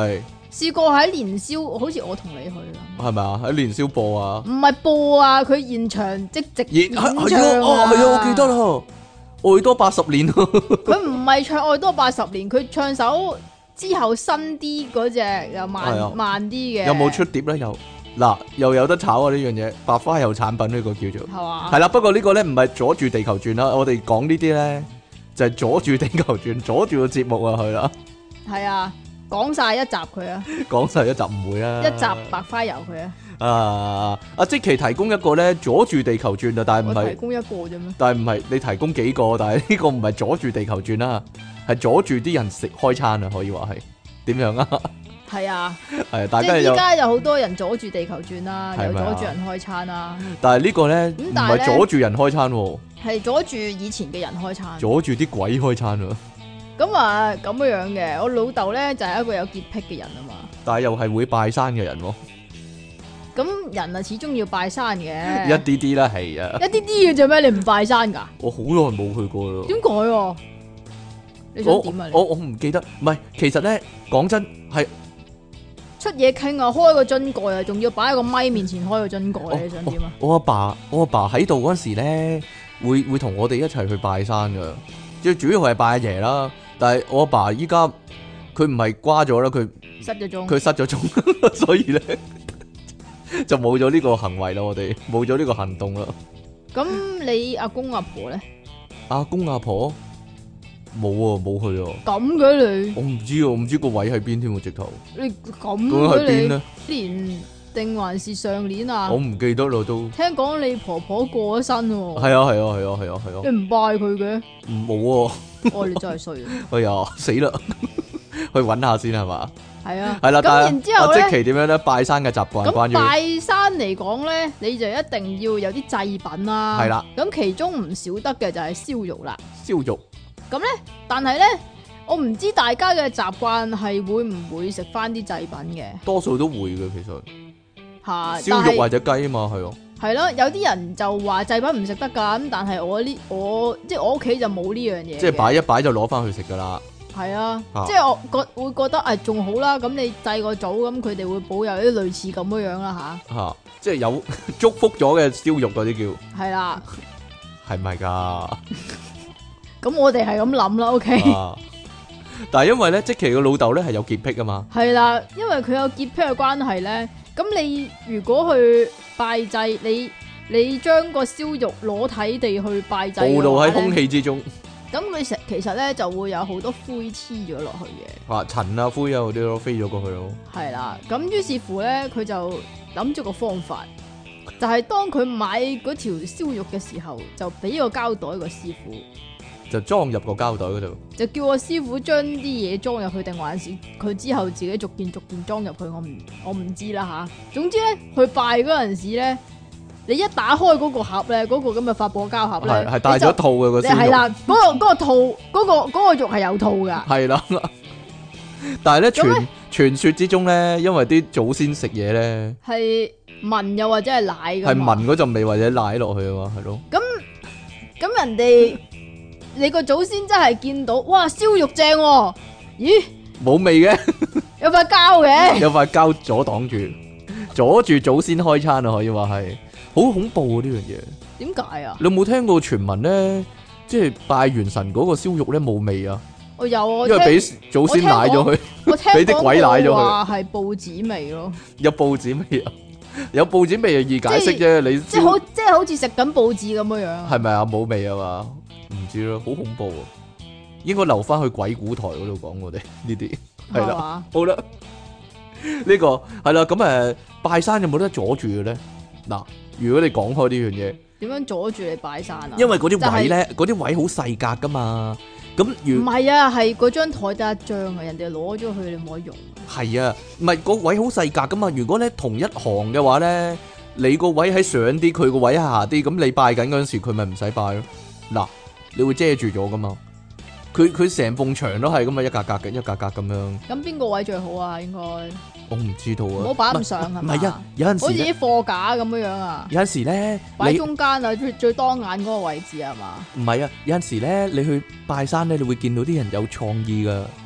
試過喺年宵，好似我同你去啦， 係咪啊？喺年宵播啊？ 唔係播啊，佢現場即直演唱啊！ 係啊，我記得啦，愛多80年。 佢唔係唱愛多80年，佢唱首之後新啲嗰隻又慢啲嘅。 有冇出碟咧？又有得炒啊！呢樣嘢百花有產品呢個叫做係嘛？ 係啦，不過呢個咧唔係阻住地球轉啦，我哋講呢啲咧就係阻住地球轉，阻住個節目啊去啦。係啊，講晒一集佢啊！ 講晒一集唔會啊！ 一集白花油佢啊！阿積淇提供一個咧阻住地球轉啊，但係唔係提供一個啫咩？ 但係唔係你提供幾個，但係呢個唔係阻住地球轉啦，係阻住啲人食開餐啊，可以話係點樣啊？係啊， 係大家即係依家有好多人阻住地球轉啦，又阻住人開餐啦。 但係呢個咧唔係阻住人開餐， 係阻住以前嘅人開餐， 阻住啲鬼開餐啊！ 咁啊咁樣嘅，我老豆咧就係一個有潔癖嘅人啊嘛。 但係又係會拜山嘅人喎。 咁人啊，始終要拜山嘅。 一啲啲啦，係啊。 一啲啲嘅啫咩？你唔拜山噶？ 我好耐冇去過咯。 點解？你想點啊？ 我唔記得，唔係，其實咧講真係。 出嘢傾啊！開個樽蓋啊，仲要擺喺個咪面前開個樽蓋，你想點啊？ 我阿爸喺度嗰時咧，會同我哋一齊去拜山噶，即係主要係拜阿爺啦。但係我阿爸依家佢唔係瓜咗啦，佢失咗蹤， 佢失咗蹤，所以咧就冇咗呢個行為啦。我哋冇咗呢個行動啦。 咁你阿公阿婆咧？ 阿公阿婆？冇啊，冇去啊！ 咁嘅你？ 我唔知啊，我唔知個位喺邊添喎，直頭。 你咁嘅你？年定還是上年啊？ 我唔記得咯，都。聽講你婆婆過咗身喎。 係啊！ 你唔拜佢嘅？ 冇啊！ 你真係衰啊！ 哎呀，死啦！去搵下先係嘛？ 係啊。 係啦， 咁然之後咧， 積淇點樣咧？拜山嘅習慣。 咁拜山嚟講咧，你就一定要有啲祭品啦。 係啦。 咁其中唔少得嘅就係燒肉啦。 燒肉。咁咧，但係咧，我唔知大家嘅習慣係會唔會食翻啲祭品嘅？多數都會嘅，其實吓燒肉或者雞啊嘛，係咯。 係咯，有啲人就話祭品唔食得噶，咁但係我即係我屋企就冇呢樣嘢。 即係擺一擺就攞翻去食噶啦。 係啊，即係我會覺得仲好啦。咁你祭個祖，咁佢哋會保佑啲類似咁樣樣啦吓。 即係有祝福咗嘅燒肉嗰啲叫。 係啦。 係咪噶？ 咁我哋係咁諗啦，OK。 但係因為咧，積淇個老豆咧係有潔癖啊嘛。係啦，因為佢有潔癖嘅關係咧，咁你如果去拜祭，你將個燒肉裸體地去拜祭，暴露喺空氣之中，咁佢其實咧就會有好多灰黐咗落去嘅。 塵啊灰啊嗰啲咯，飛咗過去咯。係啦，咁於是乎咧，佢就諗咗個方法，就係當佢買嗰條燒肉嘅時候，就俾個膠袋個師傅。 就裝入個膠袋嗰度， 就叫我師傅將啲嘢裝入去，定還是佢之後自己逐件裝入去？我唔知啦吓。總之咧，去拜嗰陣時咧，你一打開嗰個盒咧，嗰個咁嘅發泡膠盒咧， 係帶咗套嘅個燒肉。係啦， 嗰個套，嗰個肉係有套噶。係啦， 但係咧傳說之中咧，因為啲祖先食嘢咧係聞又或者係奶噶，係聞嗰陣味或者奶落去啊嘛，係咯。 咁人哋。你個祖先真係見到，哇！燒肉正喎，咦？ 冇味嘅， 有塊膠嘅， 有塊膠阻擋住，阻住祖先開餐啊！可以話係好恐怖啊！呢樣嘢點解啊？ 你有冇聽過傳聞咧？即係拜完神嗰個燒肉咧冇味啊！ 我有啊， 因為俾祖先奶咗佢，俾啲鬼奶咗佢， 話係報紙味咯。 有報紙味啊？有報紙味就易解釋啫，你即係好似食緊報紙咁樣樣。 係咪啊？冇味啊嘛？唔知咯，好恐怖啊！應該留翻去鬼古台嗰度講我哋呢啲係啦。好啦，呢個係啦，咁拜山有冇得阻住嘅咧？嗱，如果你講開呢樣嘢， 點樣阻住你拜山啊？ 因為嗰啲位咧，嗰啲位好細格噶嘛。咁唔係啊，係嗰張台得一張啊，人哋攞咗去，你冇得用。係啊，唔係個位好細格噶嘛。如果咧同一行嘅話咧，你個位喺上啲，佢個位喺下啲，咁你拜緊嗰陣時，佢咪唔使拜咯。嗱。你會遮住咗噶嘛？佢成埲牆都係咁嘛，一格格嘅，一格格咁樣。咁邊個位最好啊？應該我唔知道啊。唔好擺咁上係嘛？唔係啊，有陣時好似啲貨架咁樣啊。有陣時咧擺中間啊，最當眼嗰個位置係嘛？唔係啊，有陣時咧你去拜山咧，你會見到啲人有創意噶。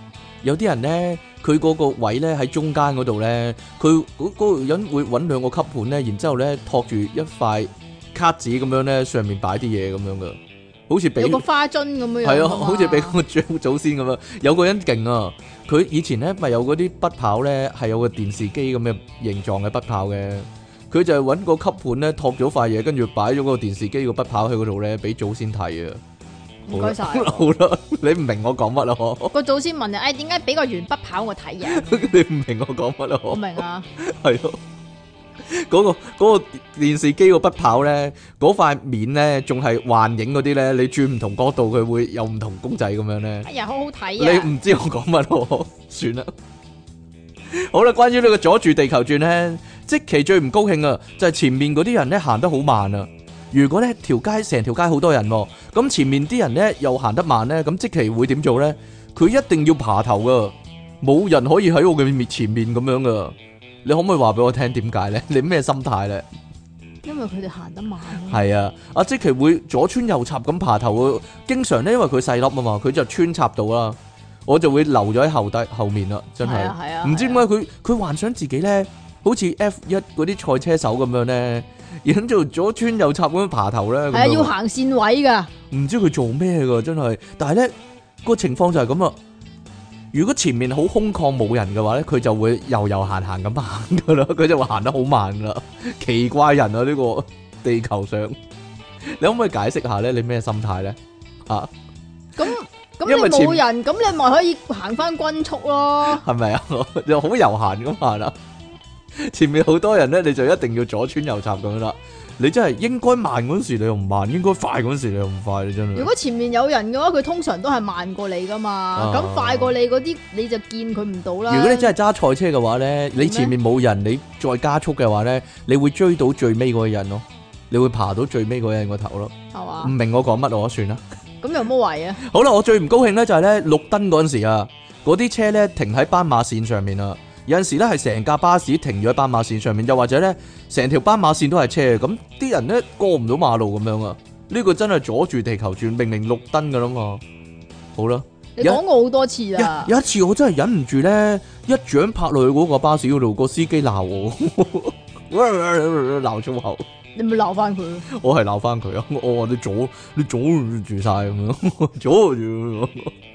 有啲人咧，佢嗰個位咧喺中間嗰度咧，佢嗰個人會揾兩個吸盤咧，然之後咧托住一塊卡紙咁樣咧，上面擺啲嘢咁樣噶，好似俾有個花樽咁樣。 係啊，好似俾個祖先咁樣。有個人勁啊，佢以前咧咪有嗰啲筆刨咧，係有個電視機咁嘅形狀嘅筆刨嘅，佢就係揾個吸盤咧托咗塊嘢，跟住擺咗個電視機個筆刨喺嗰度咧，俾祖先睇啊！ 唔該晒。 好啦，你唔明我講乜啊？ 個祖先問你，點解俾個鉛筆刨我睇啊？ 你唔明我講乜啊？ 我明啊， 係咯，嗰個電視機個筆刨咧，嗰塊面咧仲係幻影嗰啲咧，你轉唔同角度佢會有唔同公仔咁樣咧。 哎呀，好好睇啊！ 你唔知我講乜喎？算啦。好啦，關於呢個阻住地球轉咧，積淇最唔高興啊，就係前面嗰啲人咧行得好慢啊。如果咧成條街好多人，咁前面啲人咧又行得慢咧，咁積淇會點做咧？佢一定要爬頭噶，冇人可以喺我嘅前面咁樣噶。你可唔可以話俾我聽點解咧？你咩心態咧？ 因為佢哋行得慢。 係啊，阿積淇會左穿右插咁爬頭，經常咧因為佢細粒啊嘛，佢就穿插到啦，我就會留咗喺後面啦，真係。係啊。唔知點解佢幻想自己咧，好似 F1 嗰啲賽車手咁樣咧。然做左穿右插咁樣爬頭咧，係啊， 要行線位噶， 唔知佢做咩噶，真係。但係咧個情況就係咁啊。如果前面好空曠冇人嘅話咧，佢就會悠悠閒閒咁行噶啦，佢就會行得好慢噶啦。奇怪人啊，呢個地球上，你可唔可以解釋下咧？你咩心態咧？啊， 咁你冇人，咁你咪可以行翻均速咯？係咪啊？ 又好悠閒咁行啦。前面好多人咧，你就一定要左穿右插咁樣啦。你真係應該慢嗰時你又唔慢，應該快嗰時你又唔快，你真係。如果前面有人嘅話，佢通常都係慢過你噶嘛。咁快過你嗰啲，你就見佢唔到啦。如果你真係揸賽車嘅話咧，你前面冇人，你再加速嘅話咧，你會追到最尾嗰個人咯，你會爬到最尾嗰個人個頭咯。係嘛？唔明我講乜我算啦。咁有乜謂啊？好啦，我最唔高興咧就係咧綠燈嗰陣時啊，嗰啲車咧停喺斑馬線上面啊。有陣時咧係成架巴士停咗喺斑馬線上面，又或者咧成條斑馬線都係車，咁啲人咧過唔到馬路咁樣啊！呢個真係阻住地球轉，明明綠燈噶啦嘛。好啦，你講過好多次啦。有一次我真係忍唔住咧，一掌拍落去嗰個巴士嗰度，個司機鬧我，鬧粗口。你咪鬧翻佢？我係鬧翻佢啊！我話你阻住晒咁樣，阻住。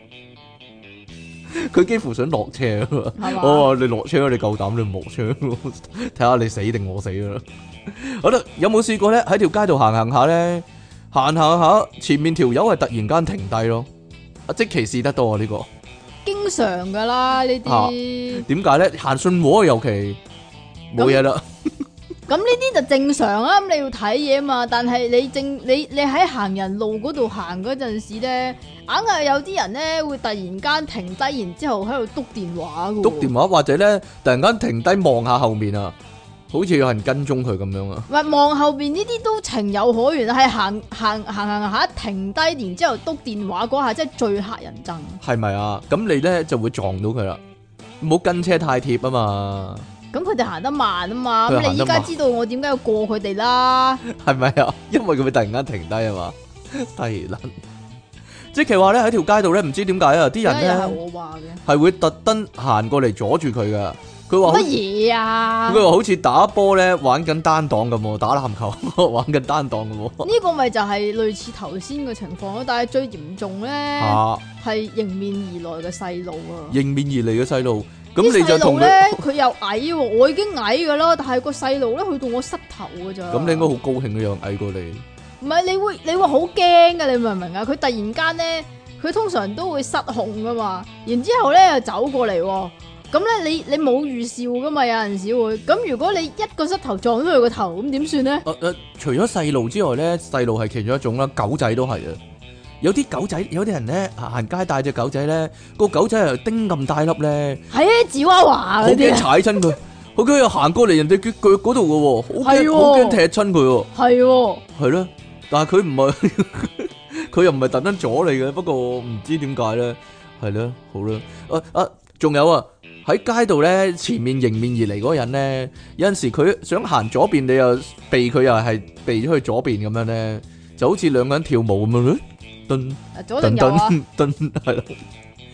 佢幾乎想落車啊！我話你落車，你夠膽你唔落車，睇下你死定我死啦！好啦，有冇試過咧喺條街度行下咧，行下前面條友係突然間停低咯？阿積淇試得多啊呢個，經常噶啦呢啲。點解咧？行信和尤其冇嘢啦。咁呢啲就正常啊！咁你要睇嘢嘛，但係你喺行人路嗰度行嗰陣時咧，硬係有啲人咧會突然間停低，然之後喺度篤電話噶。篤電話或者咧突然間停低望下後面啊，好似有人跟蹤佢咁樣啊。唔係望後邊呢啲都情有可原，係行下停低，然之後篤電話嗰下，真係最乞人憎。係咪啊？咁你咧就會撞到佢啦，唔好跟車太貼啊嘛。咁佢哋行得慢啊嘛，咁你依家知道我點解要過佢哋啦？係咪啊？因為佢會突然間停低啊嘛，低能。即係話咧喺條街度咧，唔知點解啊，啲人咧係我話嘅，係會特登行過嚟阻住佢噶。佢話乜嘢啊？佢話好似打波咧玩緊單檔咁，打籃球玩緊單檔咁。呢個咪就係類似頭先嘅情況咯，但係最嚴重咧係迎面而來嘅細路啊！迎面而嚟嘅細路。咁你就同咧，佢又矮喎，我已經矮噶啦，但係個細路咧去到我膝頭噶咋。咁你應該好高興嘅，有人矮過你。唔係，你會好驚噶，你明唔明啊？佢突然間咧，佢通常都會失控噶嘛，然之後咧又走過嚟，咁咧你冇預兆噶嘛，有陣時會。咁如果你一個膝頭撞咗佢個頭，咁點算咧？除咗細路之外咧，細路係其中一種啦，狗仔都係啊。有啲狗仔，有啲人咧行街帶隻狗仔咧，個狗仔係丁咁大粒咧，係啊，芝娃娃嗰啲，好驚踩親佢，佢又行過嚟人哋腳嗰度嘅，好驚踢親佢，係咯，但係佢唔係，佢又唔係特登阻你嘅，不過唔知點解咧，係咯，好啦，仲有啊，喺街度咧，前面迎面而嚟嗰個人咧，有陣時佢想行左邊，你又避佢，又係避咗去左邊咁樣咧，就好似兩個人跳舞咁樣。左定右啊？係咯，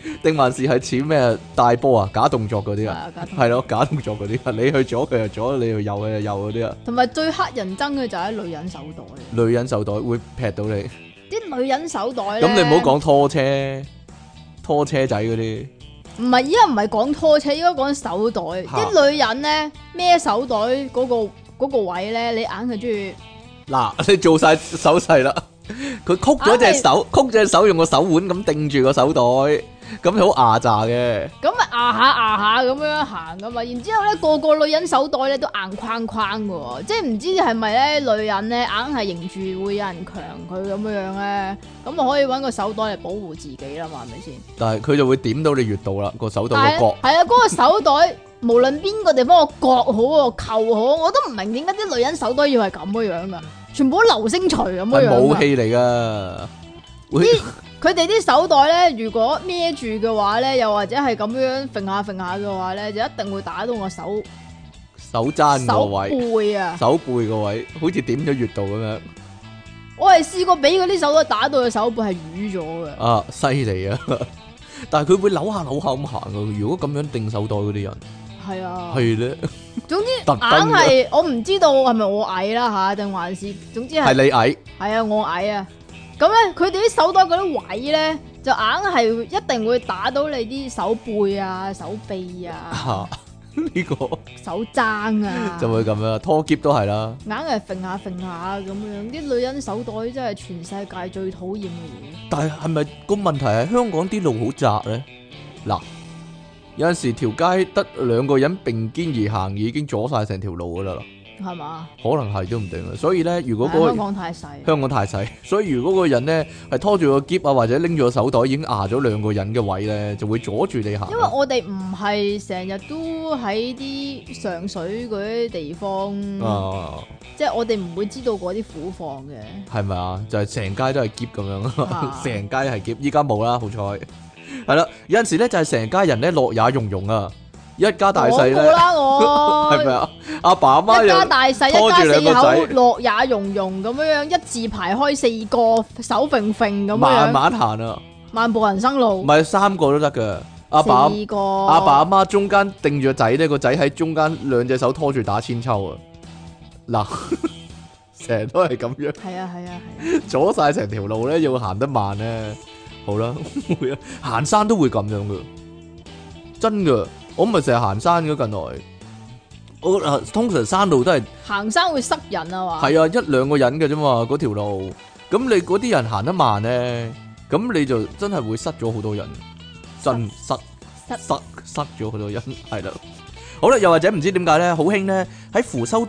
定還是係似咩大波啊？假動作嗰啲啊，係咯，假動作嗰啲啊，你去左佢就左，你去右佢就右嗰啲啊。同埋最乞人憎嘅就係女人手袋。 女人手袋會劈到你。 啲女人手袋咁你唔好講拖車仔嗰啲。 唔係，依家唔係講拖車，依家講手袋。啲女人咧孭手袋嗰個位咧，你硬係中意。 嗱，你做晒手勢啦。佢曲咗隻手，用個手腕咁定住個手袋，咁好牙炸嘅。咁咪牙下咁樣行噶嘛？然之後咧，個女人手袋咧都硬框框嘅，即係唔知係咪咧女人咧硬係認住會有人強佢咁樣咧，咁就可以搵個手袋嚟保護自己啦嘛？係咪先？ 但係佢就會點到你穴道啦，個手袋個角。 係啊，嗰個手袋無論邊個地方個角好個扣好，我都唔明點解啲女人手袋要係咁嘅樣噶。全部都流星錘咁樣樣， 係武器嚟噶。 佢哋啲手袋咧，如果孭住嘅話咧，又或者係咁樣揈下嘅話咧，就一定會打到我手踭個位， 手背啊， 手背個位，好似點咗穴道咁樣。 我係試過俾嗰啲手袋打到個手背係瘀咗嘅。 啊，犀利啊！但係佢會扭下咁行噶。如果咁樣定手袋嗰啲人， 係啊， 係咧。 總之硬係我唔知道係咪我矮啦吓，定還是總之係你矮。係啊，我矮啊。咁咧，佢哋啲手袋嗰啲位咧，就硬係一定會打到你啲手背啊、手臂啊。 呢個手踭啊， 就會咁樣，拖篋都係啦。 硬係揈下咁樣，啲女人手袋真係全世界最討厭嘅嘢。 但係咪個問題係香港啲路好窄咧？嗱。有陣時條街得兩個人並肩而行，已經阻晒成條路噶啦， 係嘛？ 可能係都唔定啦。所以咧，如果香港太細， 所以如果個人咧係拖住個篋啊，或者拎住個手袋，已經壓咗兩個人嘅位咧，就會阻住你行。 因為我哋唔係成日都喺啲上水嗰啲地方，即係我哋唔會知道嗰啲苦況嘅。 係咪啊？就係成街都係篋咁樣，成街係篋。依家冇啦，好彩。係啦，有陣時咧就係成家人咧樂也融融啊，一家大細咧，係咪啊？阿爸阿媽一家大細，一家四口樂也融融咁樣，一字排開四個，手揈揈咁樣， 慢慢行啊， 漫步人生路。 唔係三個都得噶，阿爸阿媽中間定住個仔咧，個仔喺中間兩隻手拖住打千秋啊！嗱，成日都係咁樣， 係啊， 阻晒成條路咧，要行得慢咧。好啦，行山都會咁樣噶，真噶，我唔係成日行山嘅近來，我通常山路都係行山會塞人啊嘛， 係啊，一兩個人嘅啫嘛，嗰條路，咁你嗰啲人行得慢咧，咁你就真係會塞咗好多人，真塞咗好多人，係啦，好啦，又或者唔知點解咧，好興咧喺扶手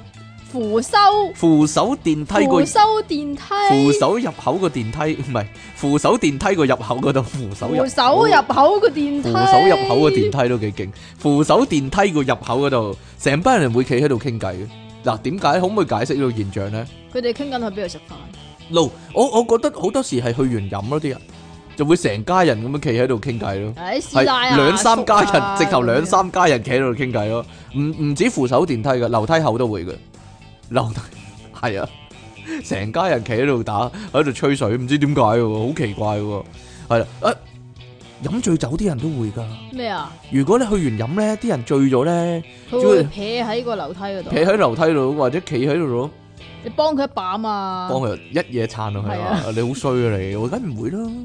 電梯個扶手入口個電梯，唔係扶手電梯個入口嗰度，扶手入口個電梯都幾勁，扶手電梯個入口嗰度，成班人會企喺度傾偈嘅。嗱，點解？可唔可以解釋呢個現象咧？ 佢哋傾緊去邊度食飯？ 路，我覺得好多時係去完飲咯，啲人就會成家人咁樣企喺度傾偈咯，係兩三家人，直頭兩三家人企喺度傾偈咯，唔止扶手電梯嘅，樓梯口都會嘅。樓梯係啊，成家人企喺度喺度吹水，唔知點解喎，好奇怪喎，係啦，飲醉酒啲人都會噶。咩啊？如果你去完飲咧，啲人醉咗咧， 佢會撇喺個樓梯嗰度， 撇喺樓梯度或者企喺度咯。 你幫佢一把嘛？幫佢一嘢撐落去啊！你好衰啊你，我梗唔會啦。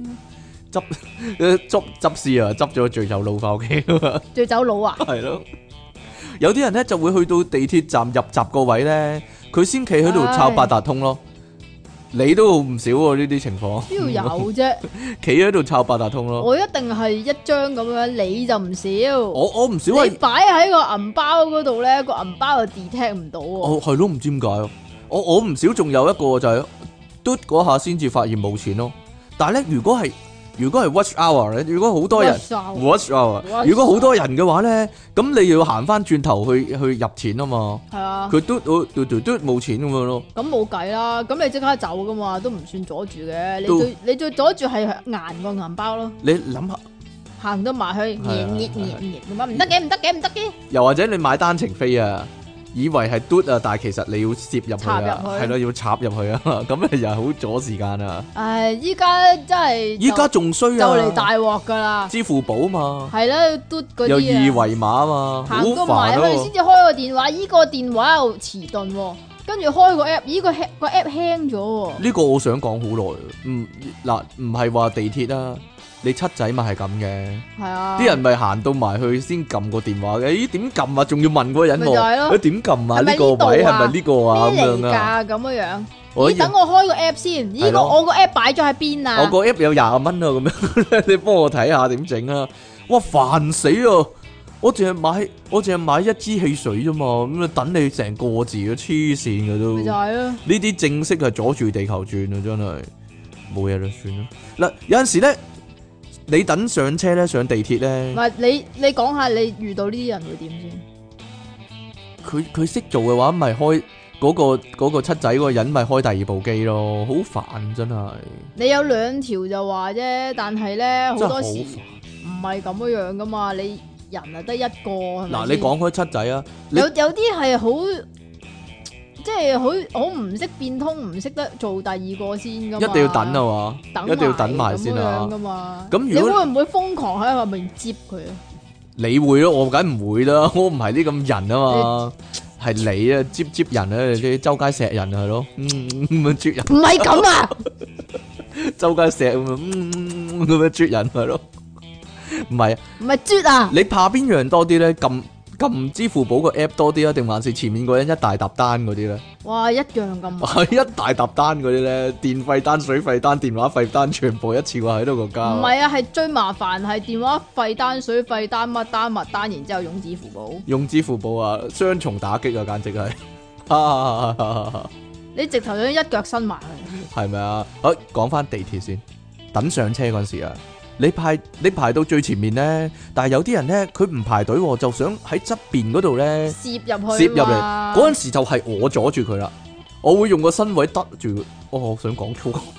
執屍啊，執咗醉酒佬翻屋企啊嘛。醉酒佬啊？係咯。有啲人咧就會去到地鐵站入閘個位咧，佢先企喺度抄八達通咯。你都唔少喎呢啲情況。 邊度有啫？ 企喺度抄八達通咯。 我一定係一張咁樣，你就唔少。 我唔少。你擺喺個銀包嗰度咧，個銀包就 detect 唔到。 哦，係咯，唔知點解。我唔少，仲有一個就係嘟嗰下先至發現冇錢咯。但係咧，如果係 watch hour 咧，如果好多人 watch hour， 如果好多人嘅話咧，咁你要行翻轉頭去入錢啊嘛。係啊。佢嘟冇錢咁樣咯。咁冇計啦，咁你即刻走噶嘛，都唔算阻住嘅。你最阻住係硬個銀包咯。你諗下，行到埋去，唔得嘅。又或者你買單程飛啊？ 以為係嘟啊，但係其實你要攝入去啊，係咯，要插入去啊，咁你又係好阻時間啊。 依家真係依家仲衰啊， 就嚟大鑊噶啦。 支付寶嘛， 係啦，嘟嗰啲有二維碼啊嘛， 行到埋去先至開個電話，依個電話又遲鈍，跟住開個 app， 依個 app 輕咗。呢個我想講好耐，嗱，唔係話地鐵啊。你七仔咪係咁嘅， 係啊！ 啲人咪行到埋去先撳個電話嘅，咦點撳啊？仲要問嗰個人喎，點撳啊？呢個位係咪呢個啊？ 咩嚟㗎？咁樣，咦？等我開個 app 先，呢個我個 app 擺咗喺邊啊？ 我個 app 有20蚊啊，咁樣你幫我睇下點整啊？哇煩死啊！我淨係買一支汽水啫嘛，咁啊等你成個字嘅黐線嘅都， 咪就係咯。 呢啲正式係阻住地球轉啊！真係冇嘢就算啦。嗱，有陣時咧。你等上車咧，上地鐵咧， 唔係你講下你遇到呢啲人會點先？ 佢識做嘅話，咪開嗰個七仔嗰個人咪開第二部機咯，好煩真係。你有2條就話啫，但係咧好多時唔係咁樣噶嘛，你人啊得一個。嗱，你講開七仔啊，有啲係好。即係好唔識變通，唔識得做第二個先噶嘛，一定要等啊嘛，一定要等埋先啊嘛。咁你會唔會瘋狂喺後面接佢啊？你會咯，我梗唔會啦，我唔係呢咁人啊嘛，係你啊接人啊，你周街錫人係咯，咁樣啜人。唔係咁啊，周街錫咁樣啜人係咯，唔係唔係啜啊？你怕邊樣多啲咧？撳支付寶個 app 多啲啊，定還是前面嗰人一大沓單嗰啲咧？哇，一樣咁。係一大沓單嗰啲咧，電費單、水費單、電話費單，全部一次過喺度個交。唔係啊，係最麻煩係電話費單、水費單、乜單物單，然之後用支付寶。用支付寶啊，雙重打擊啊，簡直係。你直頭想一腳伸埋去。係咪啊？好，講翻地鐵先，等上車嗰陣時啊。你排到最前面咧，但係有啲人咧，佢唔排隊，就想喺側邊嗰度咧攝入嚟。嗰陣時就係我阻住佢啦，我會用個身位得住佢。我想講粗口，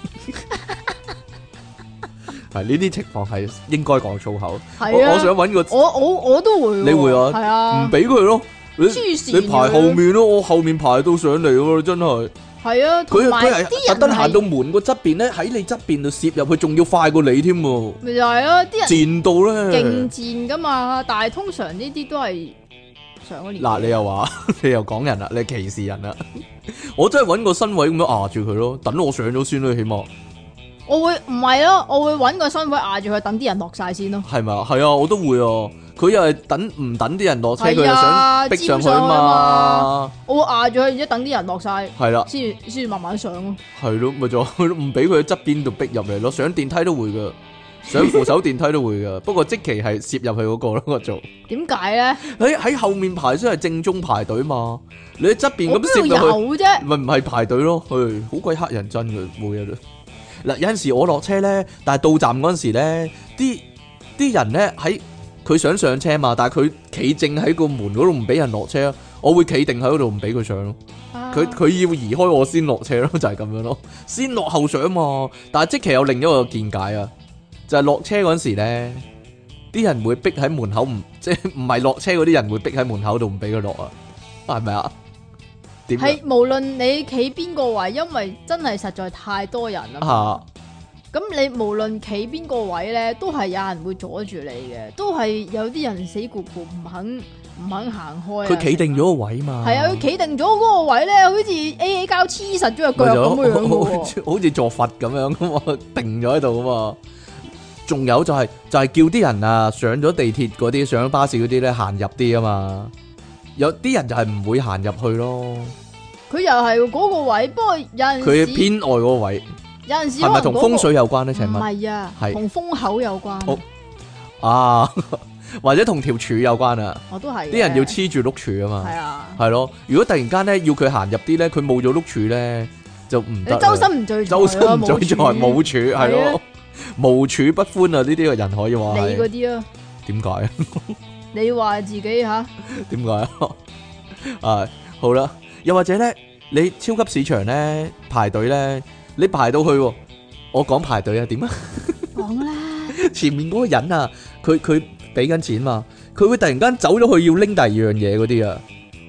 係呢啲情況係應該講粗口。係啊，我想揾個我都會，你會啊？係啊，唔俾佢咯。你排後面咯，我後面排到上嚟咯，真係。係啊，佢係特登行到門個側邊咧，喺你側邊度攝入去，仲要快過你添。咪就係咯，啲人賤到咧，勁賤噶嘛。但係通常呢啲都係上咗年。嗱，你又話你又講人啦，你歧視人啦。我真係搵個身位咁樣壓住佢咯，等我上咗先咯，起碼。我會唔係咯？我會搵個身位壓住佢，等啲人落晒先咯。係咪？係啊，我都會啊。佢又係唔等啲人落車，佢又想逼上去啊嘛。我會壓住佢，然之後等啲人落晒，係啦，先慢慢上咯。係咯，咪就唔俾佢喺側邊度逼入嚟咯。上電梯都會噶，上扶手電梯都會噶。不過即期係攝入去嗰個咯，我做。點解咧？喺後面排先係正宗排隊嘛。你喺側邊咁攝入去，咪唔係排隊咯？好鬼黑人憎嘅，冇嘢啦。嗱，有陣時我落車咧，但係到站嗰陣時咧，啲人咧喺。佢想上車嘛，但係佢企正喺個門嗰度唔俾人落車，我會企定喺嗰度唔俾佢上咯。佢要移開我先落車咯，就係咁樣咯。先落後上嘛，但係即期有另一個見解啊，就係落車嗰時咧，啲人會逼喺門口，即係唔係落車嗰啲人會逼喺門口度唔俾佢落啊？係咪啊？點？係無論你企邊個位，因為真係實在太多人啦。咁你無論企邊個位咧，都係有人會阻住你嘅，都係有啲人死咕咕唔肯行開。佢企定咗個位嘛？係啊，佢企定咗嗰個位咧，好似 AA 膠黐實咗隻腳咁樣嘅，好似坐佛咁樣噶嘛，定咗喺度噶嘛。仲有就係叫啲人啊，上咗地鐵嗰啲，上咗巴士嗰啲咧，行入啲啊嘛。有啲人就係唔會行入去咯。佢又係嗰個位，不過有陣時佢偏愛嗰個位。有陣時係咪同風水有關咧？請問唔係啊，係同風口有關啊，或者同條柱有關啊？我都係啲人要黐住碌柱啊嘛，係啊，係咯。如果突然間咧要佢行入啲咧，佢冇咗碌柱咧就唔得。周身唔聚財，周身唔聚財，冇柱係咯，無處不歡啊！呢啲個人可以話你嗰啲啊？點解啊？你話自己吓？點解啊？啊，好啦，又或者咧，你超級市場咧排隊咧。你排到去，我講排隊啊，點啊？講啦！前面嗰個人啊，佢俾緊錢嘛，佢會突然間走咗去要拎第二樣嘢嗰啲啊，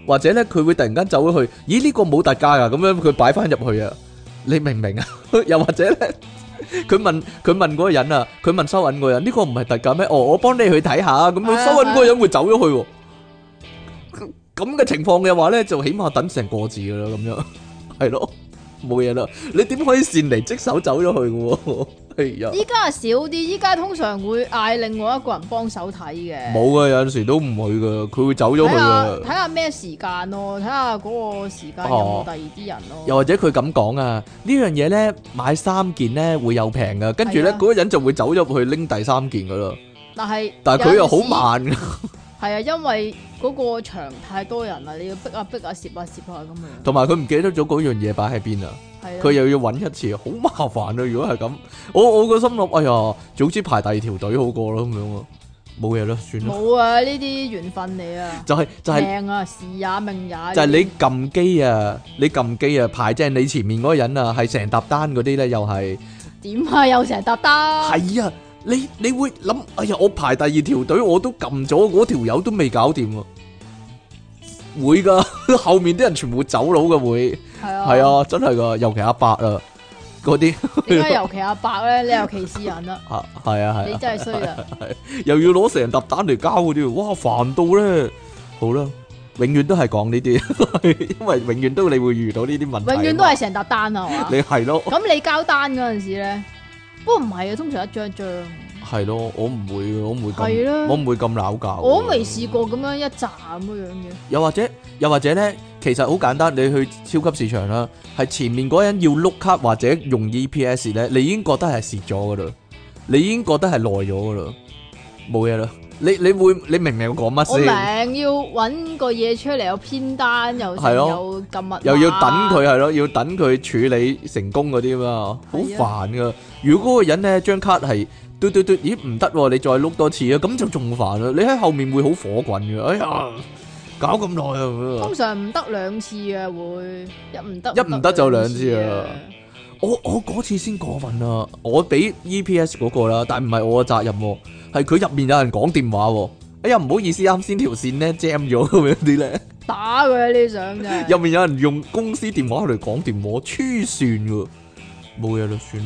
或者咧佢會突然間走咗去，咦呢個冇特價噶，咁樣佢擺翻入去啊，你明唔明啊？又或者咧，佢問嗰個人啊，佢問收銀嗰個人，呢個唔係特價咩？哦，我幫你去睇下，咁樣收銀嗰個人會走咗去，咁嘅情況嘅話咧，就起碼等成個字噶啦，咁樣係咯，冇嘢啦。你點可以擅離職守走咗去嘅？係呀， 依家少啲，依家通常會嗌另外一個人幫手睇嘅。 冇噶，有陣時都唔會噶，佢會走咗去噶。 睇下咩時間咯，睇下嗰個時間有冇第二啲人咯。 又或者佢咁講啊，呢樣嘢咧買3件咧會有平噶，跟住咧嗰個人就會走入去拎第3件噶啦。但係佢又好慢。 係啊，因為嗰個場太多人啦，你要逼啊攝啊攝啊咁樣。 同埋佢唔記得咗嗰樣嘢擺喺邊啊，佢又要揾一次，好麻煩啊！如果係咁，我個心諗，哎呀，早知排第2條隊好過啦，咁樣啊，冇嘢啦，算啦。冇啊，呢啲緣分嚟啊，就係命啊，時也命也。 就係你撳機啊，排正你前面嗰個人啊，係成沓單嗰啲咧，又係點啊？又成沓單？ 係啊。你會諗，哎呀，我排第2條隊，我都撳咗，嗰條友都未搞掂啊！會噶，後面啲人全部走佬嘅會，係啊，真係噶，尤其阿伯啊，嗰啲點解尤其阿伯咧？你又歧視人啦？ 係啊， 你真係衰啦！ 又要攞成沓單嚟交嗰啲，哇，煩到咧！好啦，永遠都係講呢啲，因為永遠都你會遇到呢啲問題， 永遠都係成沓單啊！係嘛？ 你係咯？ 咁你交單嗰陣時咧？不過唔係啊，通常一張一張。 係咯，我唔會咁，我唔會咁拗教。 我都未試過咁樣一紮咁樣嘅。 又或者咧，其實好簡單，你去超級市場啦，係前面嗰人要碌卡或者用 EPS 咧，你已經覺得係蝕咗噶啦，你已經覺得係耐咗噶啦，冇嘢啦。你明唔明我講乜先？我明，要搵個嘢出嚟，有編單又有撳密碼， 又要等佢，係咯，要等佢處理成功嗰啲嘛，好煩噶。如果嗰個人咧張卡係嘟，咦唔得，你再碌多次啊，咁就仲煩啦。你喺後面會好火滾嘅，哎呀，搞咁耐啊！通常唔得2次啊，會一唔得就2次啊。我嗰次先過分啊！我俾 EPS 嗰個啦，但唔係我嘅責任，係佢入面有人講電話。哎呀，唔好意思，啱先條線咧 jam 咗咁樣啲咧， 打佢啊！呢相真係入面有人用公司電話嚟講電話，黐線噶，冇嘢就算啦。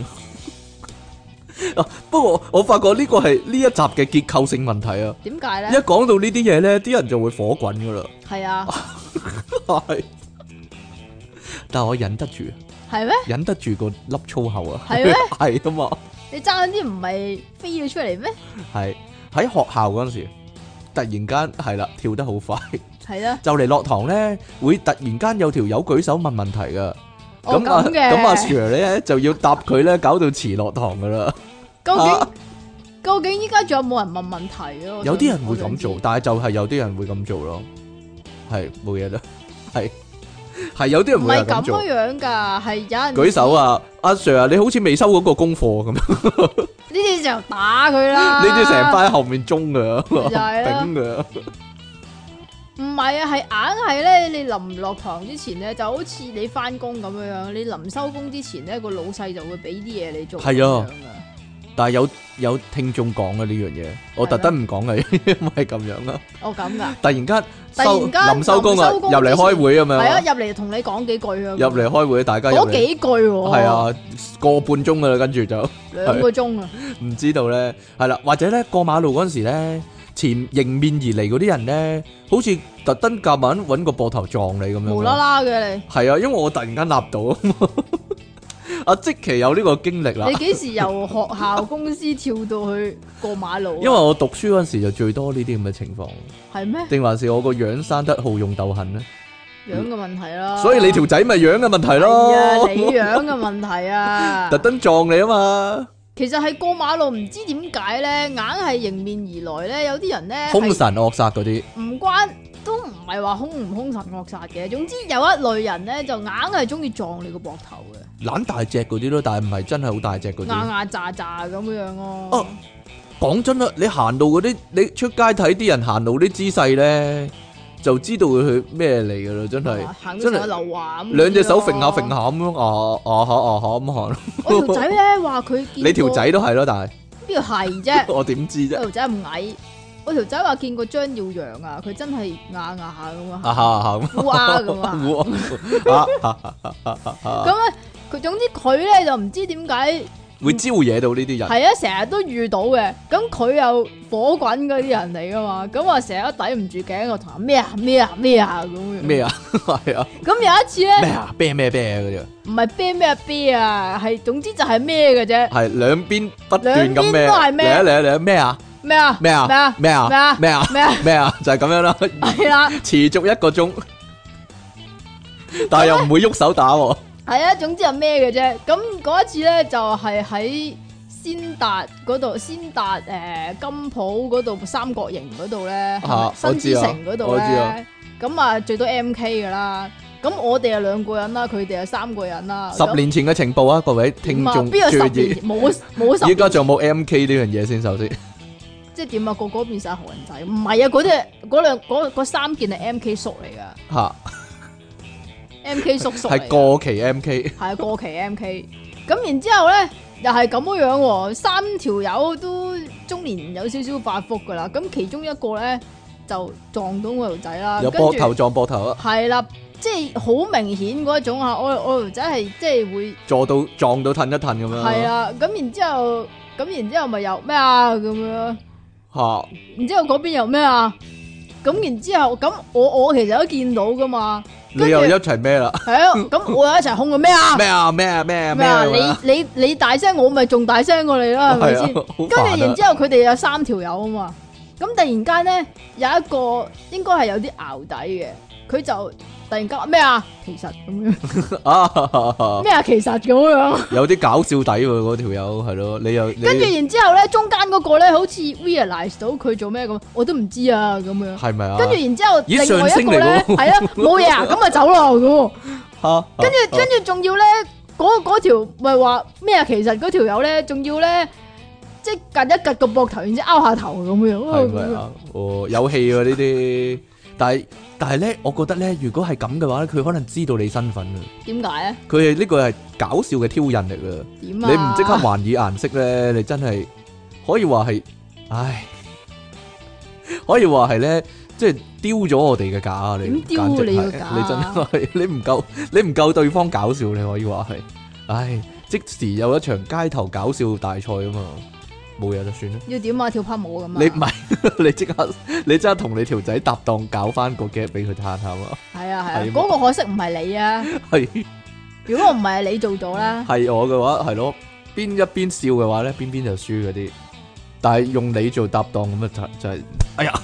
不過我發覺呢個係呢一集嘅結構性問題啊。 點解咧？ 一講到呢啲嘢咧，啲人就會火滾噶啦。 係啊， 係，但係我忍得住。 係咩？ 忍得住個粒粗口啊！ 係咩？ 係啊嘛！ 你爭啲唔係飛咗出嚟咩？係喺學校嗰陣時，突然間係啦，跳得好快。 係啊， 就嚟落堂咧，會突然間有條友舉手問問題噶。咁阿 Sir 咧就要答佢咧，搞到遲落堂噶啦。 究竟依家仲有冇人問問題啊？ 有啲人會咁做，但係就係有啲人會咁做咯。係冇嘢啦，係有啲人唔係咁樣噶，係有人舉手啊，阿 Sir 啊，你好似未收嗰個功課咁樣， 呢啲就打佢啦， 呢啲成班喺後面中噶， 頂噶。唔係啊，係硬係咧，你臨落堂之前咧，就好似你翻工咁樣，你臨收工之前咧，個老細就會俾啲嘢你做。係啊， 但係有聽眾講嘅呢樣嘢，我特登唔講嘅，因為咁樣啊。 哦，咁噶。 突然間臨收工啊，入嚟開會咁樣。 係啊，入嚟同你講幾句啊。 入嚟開會，大家講幾句。係啊，個半鐘噶啦，跟住就 2個鐘啊。唔知道咧，係啦，或者咧過馬路嗰陣時咧，迎面而嚟嗰啲人咧，好似特登夾硬搵個膊頭撞你咁樣。 無啦啦嘅你。 係啊，因為我突然間立到。阿積淇有呢個經歷啦。 你幾時由學校公司跳到去過馬路？ 因為我讀書嗰陣時就最多呢啲咁嘅情況。 係咩？ 定還是我個樣生得好用鬥狠呢？ 樣嘅問題啦。 所以你條仔咪樣嘅問題咯。 係啊，你樣嘅問題啊。 特登撞你啊嘛。 其實係過馬路唔知點解咧，硬係迎面而來咧，有啲人咧兇神惡煞嗰啲。 唔關。都唔係話兇唔兇神惡煞嘅，總之有一類人咧就硬係中意撞你個膊頭嘅， 懶大隻嗰啲咯，但係唔係真係好大隻嗰啲， 硬硬炸炸咁樣咯。 哦，講真啦，你行路嗰啲，你出街睇啲人行路啲姿勢咧，就知道佢咩嚟噶啦，真係，真係劉華咁，兩隻手揈下揈下咁樣，咁行。 我條仔咧話佢， 你條仔都係咯，但係邊度係啫？ 我點知啫？ 條仔咁矮。 我條仔話見過張耀揚啊，佢真係下咁啊， 烏鴉咁啊，咁咧佢總之佢咧就唔知點解會招惹到呢啲人。 係啊，成日都遇到嘅。咁佢又火滾嗰啲人嚟噶嘛，咁啊成日都抵唔住頸，我同佢咩啊咁樣。咩啊？ 係啊。 咁有一次咧， 咩啊？啤咩嗰啲？ 唔係啤啊，係總之就係咩嘅啫。 係兩邊不斷咁咩？嚟啊咩啊？咩啊？就係咁樣啦。 係啦， 持續1個鐘，但係又唔會喐手打。 係啊，總之係咩嘅啫。咁嗰一次咧就係喺先達嗰度，金鋪嗰度三角形嗰度咧，新之城嗰度咧。咁啊最多 MK 噶啦。咁我哋係2個人啦，佢哋係3個人啦。 10年前嘅情報啊，各位聽眾注意。 邊有10年？冇10年。 依家仲有冇 MK 呢樣嘢先？首先， 即係點啊？個變晒韓仔？唔係啊，嗰3件係 MK 叔嚟噶。吓。MK 叔係過期 MK， 係過期 MK。咁然之後咧，又係咁樣，3條友都中年有少少發福噶啦。咁其中一個咧就撞到我條仔啦， 有膊頭撞膊頭啊。 係啦，即係好明顯嗰種啊！我條仔係即係會撞到褪一褪咁樣。 係啊，咁然之後咪又咩啊咁樣吓？然之後嗰邊又咩啊？咁然之後咁我其實都見到噶嘛。 你又一齊咩啦？ 係啊，咁我又一齊控佢咩啊？咩啊？你大聲，我咪仲大聲過你啦，係咪先？跟住然之後佢哋有3條友啊嘛，咁突然間咧有一個應該係有啲淆底嘅，佢就突然間咩啊？其實咁樣咩啊？其實咁樣有啲搞笑底喎，嗰條友係咯，你又跟住然之後咧，中間嗰個咧好似 realize 到佢做咩咁，我都唔知啊咁樣，係咪啊？跟住然之後另外一個咧係啊冇嘢啊，咁啊走咯咁吓，跟住仲要咧嗰條咪話咩啊？其實嗰條友咧仲要咧即係趌一趌個膊頭，然之後拗下頭咁樣，係咪啊？ 哦，有戲啊呢啲。但係咧，我覺得咧，如果係咁嘅話咧，佢可能知道你身份啊。點解啊？佢係呢個係搞笑嘅挑釁嚟噶。點啊？你唔即刻還以顏色咧，你真係可以話係，可以話係咧，即係丟咗我哋嘅架啊！你丟你嘅架，你真係你唔夠對方搞笑，你可以話係，即時有一場街頭搞笑大賽啊嘛。冇嘢就算啦。要點啊？跳趴舞咁啊？你唔係你即刻同你條仔搭檔搞翻個 gag 俾佢嘆下嘛？係啊，嗰個可惜唔係你啊。係，如果唔係你做咗啦。係我嘅話係咯，邊一邊笑嘅話咧，邊就輸嗰啲。但係用你做搭檔咁啊，就係哎呀，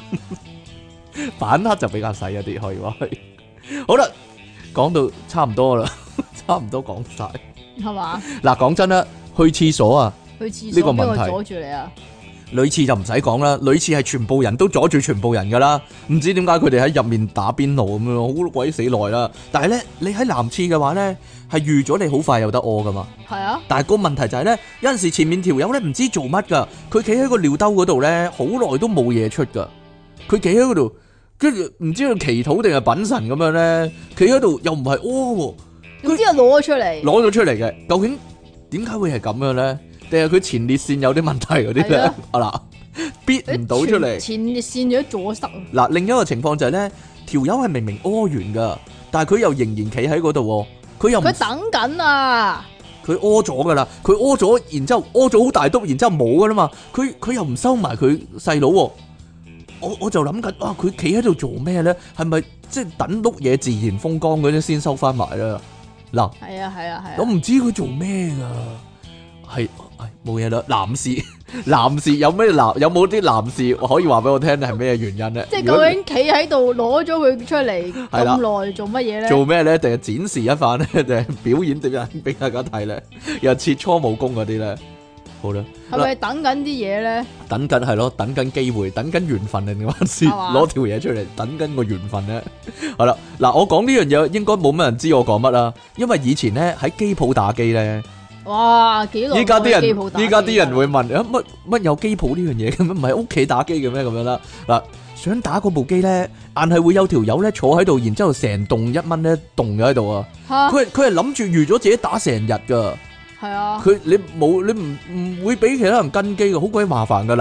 反黑就比較細一啲，可以話係。好啦，講到差唔多啦，差唔多講晒係嘛？嗱，講真啦，去廁所啊。呢個問題阻住你啊！女廁就唔使講啦，女廁係全部人都阻住全部人噶啦，唔知點解佢哋喺入面打邊爐咁樣，好鬼死耐啦。但係咧，你喺男廁嘅話咧，係預咗你好快有得屙噶嘛。係啊。但係個問題就係咧，有陣時前面條友咧唔知做乜噶，佢企喺個尿兜嗰度咧，好耐都冇嘢出噶。佢企喺嗰度，跟住唔知佢祈禱定係稟神咁樣咧，企喺度又唔係屙，佢之後攞咗出嚟嘅，究竟點解會係咁樣咧？定係佢前列腺有啲問題嗰啲咧？啊嗱，逼唔到出嚟。前列腺有啲阻塞。嗱，另一個情況就係咧，條友係明明屙完噶，但係佢又仍然企喺嗰度，佢又佢等緊啊！佢屙咗噶啦，佢屙咗，然之後屙咗好大篤，然之後冇噶啦嘛，佢又唔收埋佢細佬，我就諗緊啊，佢企喺度做咩咧？係咪即係等碌嘢自然風乾嗰啲先收翻埋啦？嗱，係啊，我唔知佢做咩噶，係。冇嘢啦，男士有咩有冇啲男士可以話俾我聽係咩原因咧？即係究竟企喺度攞咗佢出嚟咁耐做乜嘢咧？做咩咧？定係展示一番咧？定係表演點樣俾大家睇咧？又切磋武功嗰啲咧？好啦，係咪等緊啲嘢咧？等緊係咯，等緊機會，等緊緣分定還是攞條嘢出嚟？等緊個緣分咧？係啦，嗱，我講呢樣嘢應該冇乜人知我講乜啦，因為以前咧喺機鋪打機咧。哇！幾耐？依家啲人會問乜有機鋪呢樣嘢嘅咩？唔係屋企打機嘅咩？咁樣啦，嗱，想打嗰部機咧，硬係會有條友咧坐喺度，然之後成棟1蚊咧棟咗喺度啊！佢係諗住預咗自己打成日噶，係啊！你唔會俾其他人跟機嘅，好鬼麻煩噶啦！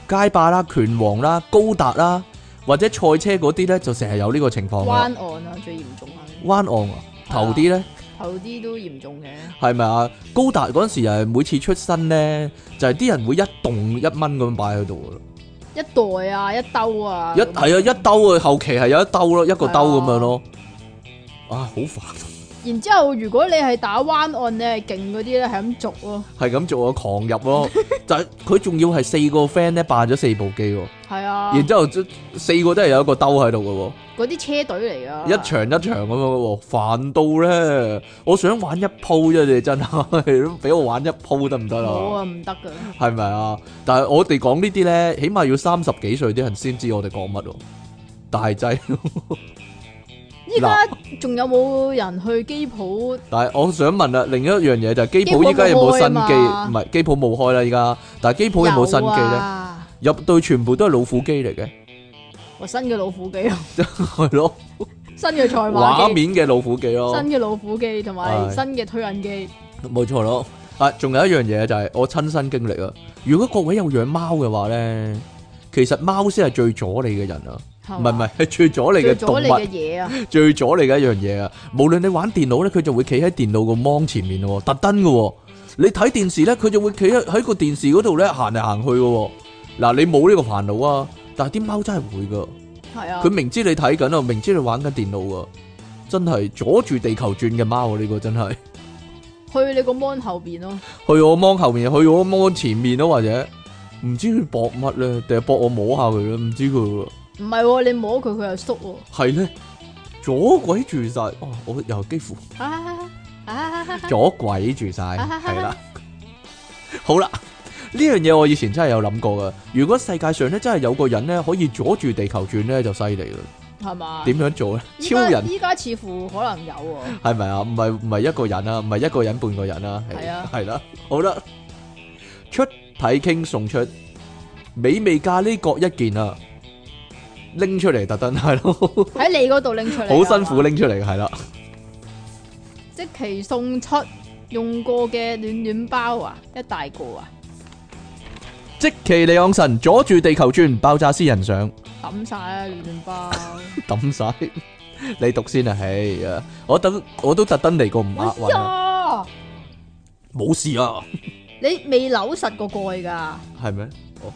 街霸啦、拳王啦、高達啦，或者賽車嗰啲咧，就成日有呢個情況。 灣岸啊，最嚴重啊。 灣岸啊，頭啲咧？ 頭啲都嚴重嘅。 係咪啊？高達嗰陣時又每次出新咧，就係啲人會一棟1蚊咁擺喺度噶啦。 一袋啊，一兜啊。 係啊，一兜啊，後期係有一兜咯，一個兜咁樣咯。啊，好煩。 然之後，如果你係打灣岸，你係勁嗰啲咧，係咁續咯， 係咁續啊，狂入咯，就係佢仲要係4個 friend 咧霸咗4部機喎， 係啊， 然之後4個都係有一個兜喺度嘅喎， 嗰啲車隊嚟噶， 一場一場咁樣喎，煩到咧，我想玩一鋪啫，你真係俾我玩一鋪得唔得啊？ 冇啊，唔得噶， 係咪啊？但係我哋講呢啲咧，起碼要30幾歲啲人先知我哋講乜喎，大劑。 依家仲有冇人去機鋪？ 但係我想問啦，另一樣嘢就係機鋪依家有冇新機？唔係機鋪冇開啦依家，但係機鋪有冇新機咧？入到全部都係老虎機嚟嘅。 哇，新嘅老虎機啊！ 係咯， 新嘅賽馬機， 畫面嘅老虎機咯， 新嘅老虎機同埋新嘅推印機。冇錯咯。啊，仲有一樣嘢就係我親身經歷啊！如果各位有養貓嘅話咧，其實貓先係最阻你嘅人啊！唔係，係最阻你嘅動物嘅嘢啊！最阻你嘅一樣嘢啊！無論你玩電腦咧，佢就會企喺電腦個芒前面咯，特登嘅。你睇電視咧，佢就會企喺個電視嗰度咧行嚟行去嘅。嗱，你冇呢個煩惱啊，但係啲貓真係會噶。係啊，佢明知你睇緊啊，明知你玩緊電腦啊，真係阻住地球轉嘅貓啊！呢個真係去你個芒後邊咯， 去我芒後面，去我芒前面咯，或者唔知佢搏乜咧，定係搏我摸下佢咧？唔知佢。 唔係，你摸佢，佢又縮喎。 係咧，阻鬼住晒。哦，我又幾乎阻鬼住晒，係啦。好啦，呢樣嘢我以前真係有諗過噶。如果世界上咧真係有個人咧可以阻住地球轉咧，就犀利啦。係嘛？點樣做咧？超人依家似乎可能有喎。 係咪啊？唔係一個人啊，唔係一個人半個人啊。係啊，係啦。好啦，出體 king送出美味咖喱各一件啊！拎出嚟特登係咯， 喺你嗰度拎出嚟， 好辛苦拎出嚟係啦。 即期送出用過嘅暖暖包啊，一大個啊！ 積淇離岸神阻住地球轉，爆炸私人相抌晒啊暖暖包， 抌晒你讀先啊！係啊，我都特登嚟過唔呃運，冇事啊！ 你未扭實個蓋噶？ 係咩？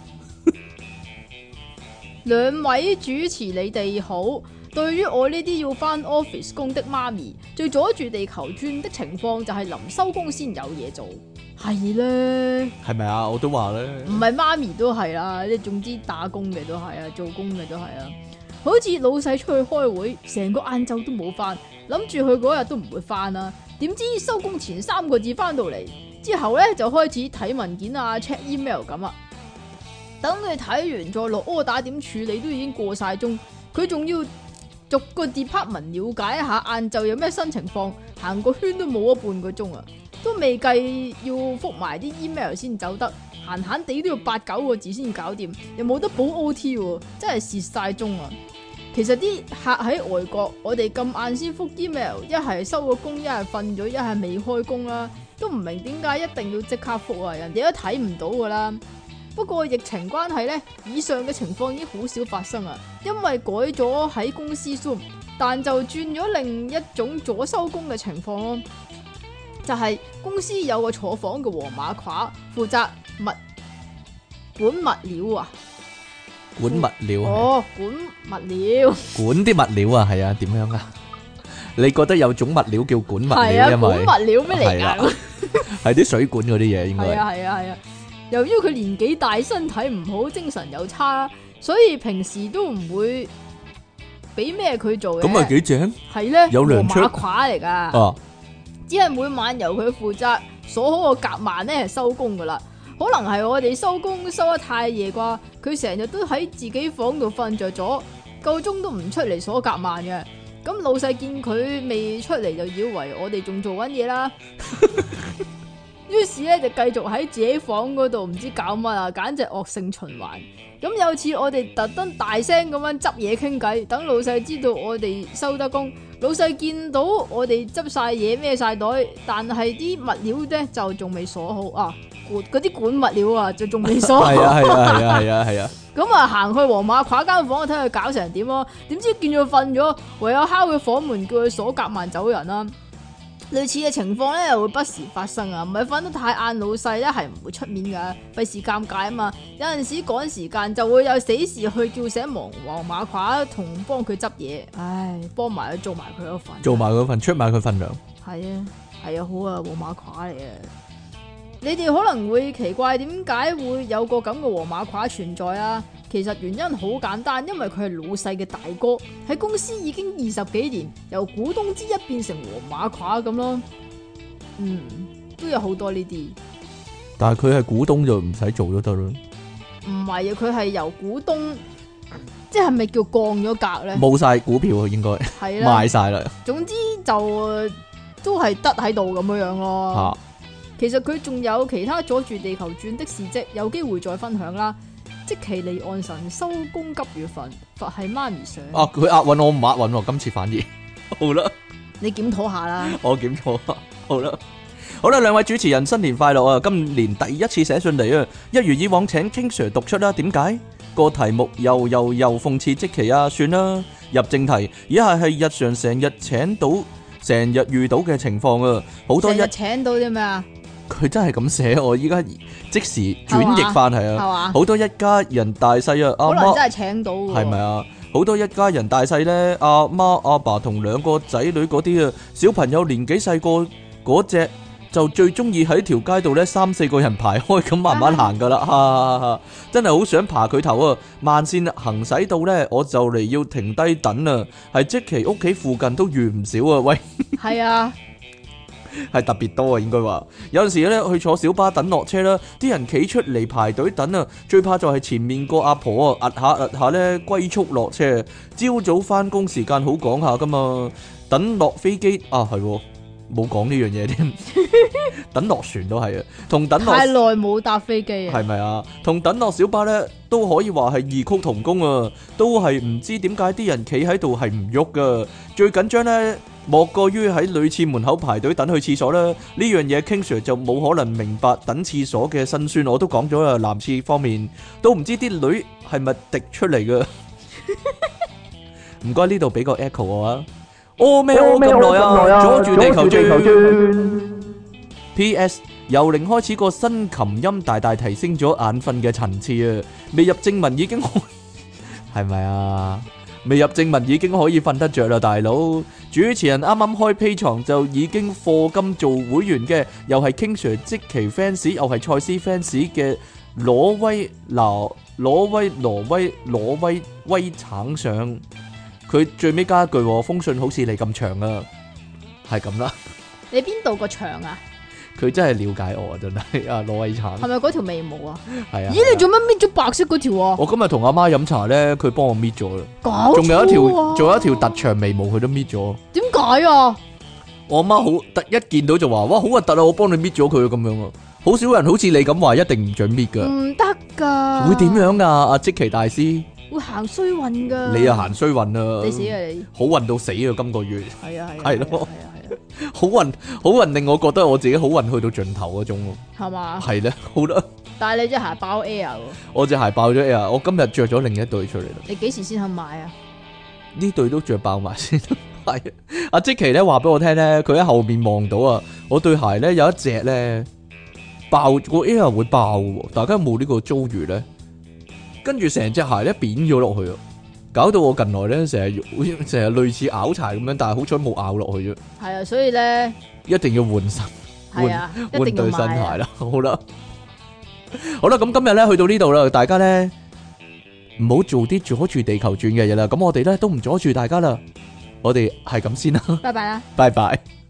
兩位主持你哋好，對於我呢啲要返 office 工的媽咪，最阻住地球轉的情況就係臨收工先有嘢做，係咧，係咪啊？我都話咧， 唔係媽咪都係啦，你總之打工嘅都係啊，做工嘅都係啊，好似老細出去開會，成個晏晝都冇返，諗住佢嗰日都唔會返啦，點知收工前3個字返到嚟之後咧，就開始睇文件啊 check email 咁啊。等你睇完再落order點處理都已經過晒鐘，佢仲要逐個 department 了解一下晏晝有咩新情況，行個圈都冇咗半個鐘啊，都未計要覆埋啲 email 先走得，閒閒地都要8-9個字先搞掂，又冇得補 OT 喎，真係蝕晒鐘啊！其實啲客喺外國，我哋咁晏先覆 email， 一係收個工，一係瞓咗，一係未開工啦，都唔明點解一定要即刻覆啊，人哋都睇唔到噶啦。不過疫情關係咧，以上嘅情況已經好少發生啊，因為改咗喺公司 Zoom，但就轉咗另一種阻收工嘅情況咯，就係公司有個坐房嘅黃馬褂負責管物料啊， 管物料哦，管物料， 管啲物料啊，係啊，點樣啊？你覺得有種物料叫管物料？ 係啊，因為管物料咩嚟㗎？ 係啲水管嗰啲嘢應該。 係啊。由於佢年紀大，身體唔好，精神又差，所以平時都唔會俾咩佢做嘅。 咁咪幾正？ 係咧， 有糧出。 馬褂嚟噶，只係每晚由佢負責鎖好個夾萬咧，係收工噶啦。可能係我哋收工收得太夜啩，佢成日都喺自己房度瞓着咗，夠鐘都唔出嚟鎖夾萬嘅。咁老細見佢未出嚟，就以為我哋仲做緊嘢啦。於是咧就繼續喺自己房嗰度唔知搞乜啊，簡直惡性循環。咁有次我哋特登大聲咁樣執嘢傾偈，等老細知道我哋收得工， 老細見到我哋執晒嘢孭晒袋，但係啲物料咧就仲未鎖好啊，嗰啲管物料啊就仲未鎖好。 係啊。 咁啊行去黃馬褂間房睇佢搞成點咯，點知見佢瞓咗，唯有敲佢房門叫佢鎖夾萬走人啦。類似嘅情況咧又會不時發生啊，唔係瞓得太晏，老細咧係唔會出面噶，費事尷尬啊嘛。有陣時趕時間就會有死事去叫醒黃馬褂同幫佢執嘢，唉，幫埋佢做埋佢嗰份， 出埋佢份糧。 係啊，好啊，黃馬褂嚟嘅。你哋可能會奇怪點解會有個咁嘅黃馬褂存在啊？其實原因好簡單，因為佢係老細嘅大哥，喺公司已經20幾年，由股東之一變成黃馬褂咁咯。都有好多呢啲。但係佢係股東就唔使做都得啦。唔係啊，佢係由股東，即係咪叫降咗格咧？冇晒股票應該係啦，賣晒啦。總之就都係得喺度咁樣咯。其實佢仲有其他阻住地球轉的事跡，有機會再分享啦。積淇離岸神收工急月份，佛係媽咪上。佢押韻我唔押韻，今次反而好啦。你檢討下啦。我檢討下，好啦，兩位主持人新年快樂啊！今年第一次寫信嚟啊，一如以往請 King Sir 讀出啦。點解個題目又諷刺積淇啊？算啦，入正題，以下係日常成日遇到嘅情況啊，好多日請到啲咩啊？佢真係咁寫，我依家即時轉譯翻係啊，好多一家人大細啊，可能真係請到嘅，係咪啊？好多一家人大細咧，阿媽阿爸同兩個仔女嗰啲啊，小朋友年紀細個嗰隻就最中意喺條街度咧，3-4個人排開咁慢慢行噶啦，真係好想爬佢頭啊！慢線行駛到咧，我就嚟要停低等啊，係積淇屋企附近都遇唔少啊，喂，係啊。係特別多啊，應該話有陣時咧去坐小巴等落車啦，啲人企出嚟排隊等啊，最怕就係前面個阿婆啊，壓下咧龜速落車。朝早翻工時間好講下噶嘛，等落飛機啊係冇講呢樣嘢添，等落船都係啊，同等落太耐冇搭飛機啊，係咪啊？同等落小巴咧都可以話係異曲同工啊，都係唔知點解啲人企喺度係唔喐噶，最緊張咧。莫過於喺女廁門口排隊等去廁所啦，呢樣嘢 King Sir 就冇可能明白等廁所嘅辛酸，我都講咗啦。男廁方面都唔知啲女係咪滴出嚟噶，唔該呢度俾個 echo 我啊！屙咩屙咁耐啊？阻住地球轉。P.S. 由零開始個新琴音大大提升咗眼瞓嘅層次啊！未入正文已經係咪啊？未入正文已經可以瞓得着啦，大佬！主持人啱啱開 Patreon就已經課金做會員嘅，又係 King Sir 積淇 fans，又係賽斯 fans 嘅挪威橙上，佢最尾加一句，封信好似你咁長啊，係咁啦。你邊度個長啊？佢真係了解我，真係啊！挪威橙係咪嗰條眉毛啊？係啊！咦，你做乜搣咗白色嗰條啊？我今日同阿媽飲茶咧，佢幫我搣咗啦。仲有一條特長眉毛，佢都搣咗。點解啊？我阿媽一見到就話：哇，好核突啊！我幫你搣咗佢咁樣啊！好少人好似你咁話，一定唔准搣噶。唔得噶。會點樣啊？阿積淇大師會行衰運噶。你又行衰運啊！你死啊你！好運到死啊！今個月係啊係咯。好運令我覺得我自己好運去到盡頭嗰種喎，係嘛？係咧，好啦。但係你隻鞋爆 air 喎，我隻鞋爆咗 air，我今日着咗另一對出嚟啦。你幾時先肯買啊？呢對都着爆埋先。係阿積淇咧話俾我聽咧，佢喺後面望到啊，我對鞋咧有一隻咧爆個 air 會爆嘅，大家有冇呢個遭遇咧？跟住成隻鞋咧扁咗落去啊！搞到我近來咧成日類似拗柴咁樣，但係好彩冇拗落去啫。係啊，所以咧一定要換新，換對新鞋啦。好啦，咁今日咧去到呢度啦，大家咧唔好做啲阻住地球轉嘅嘢啦。咁我哋咧都唔阻住大家啦，我哋係咁先啦。拜拜啦，拜拜。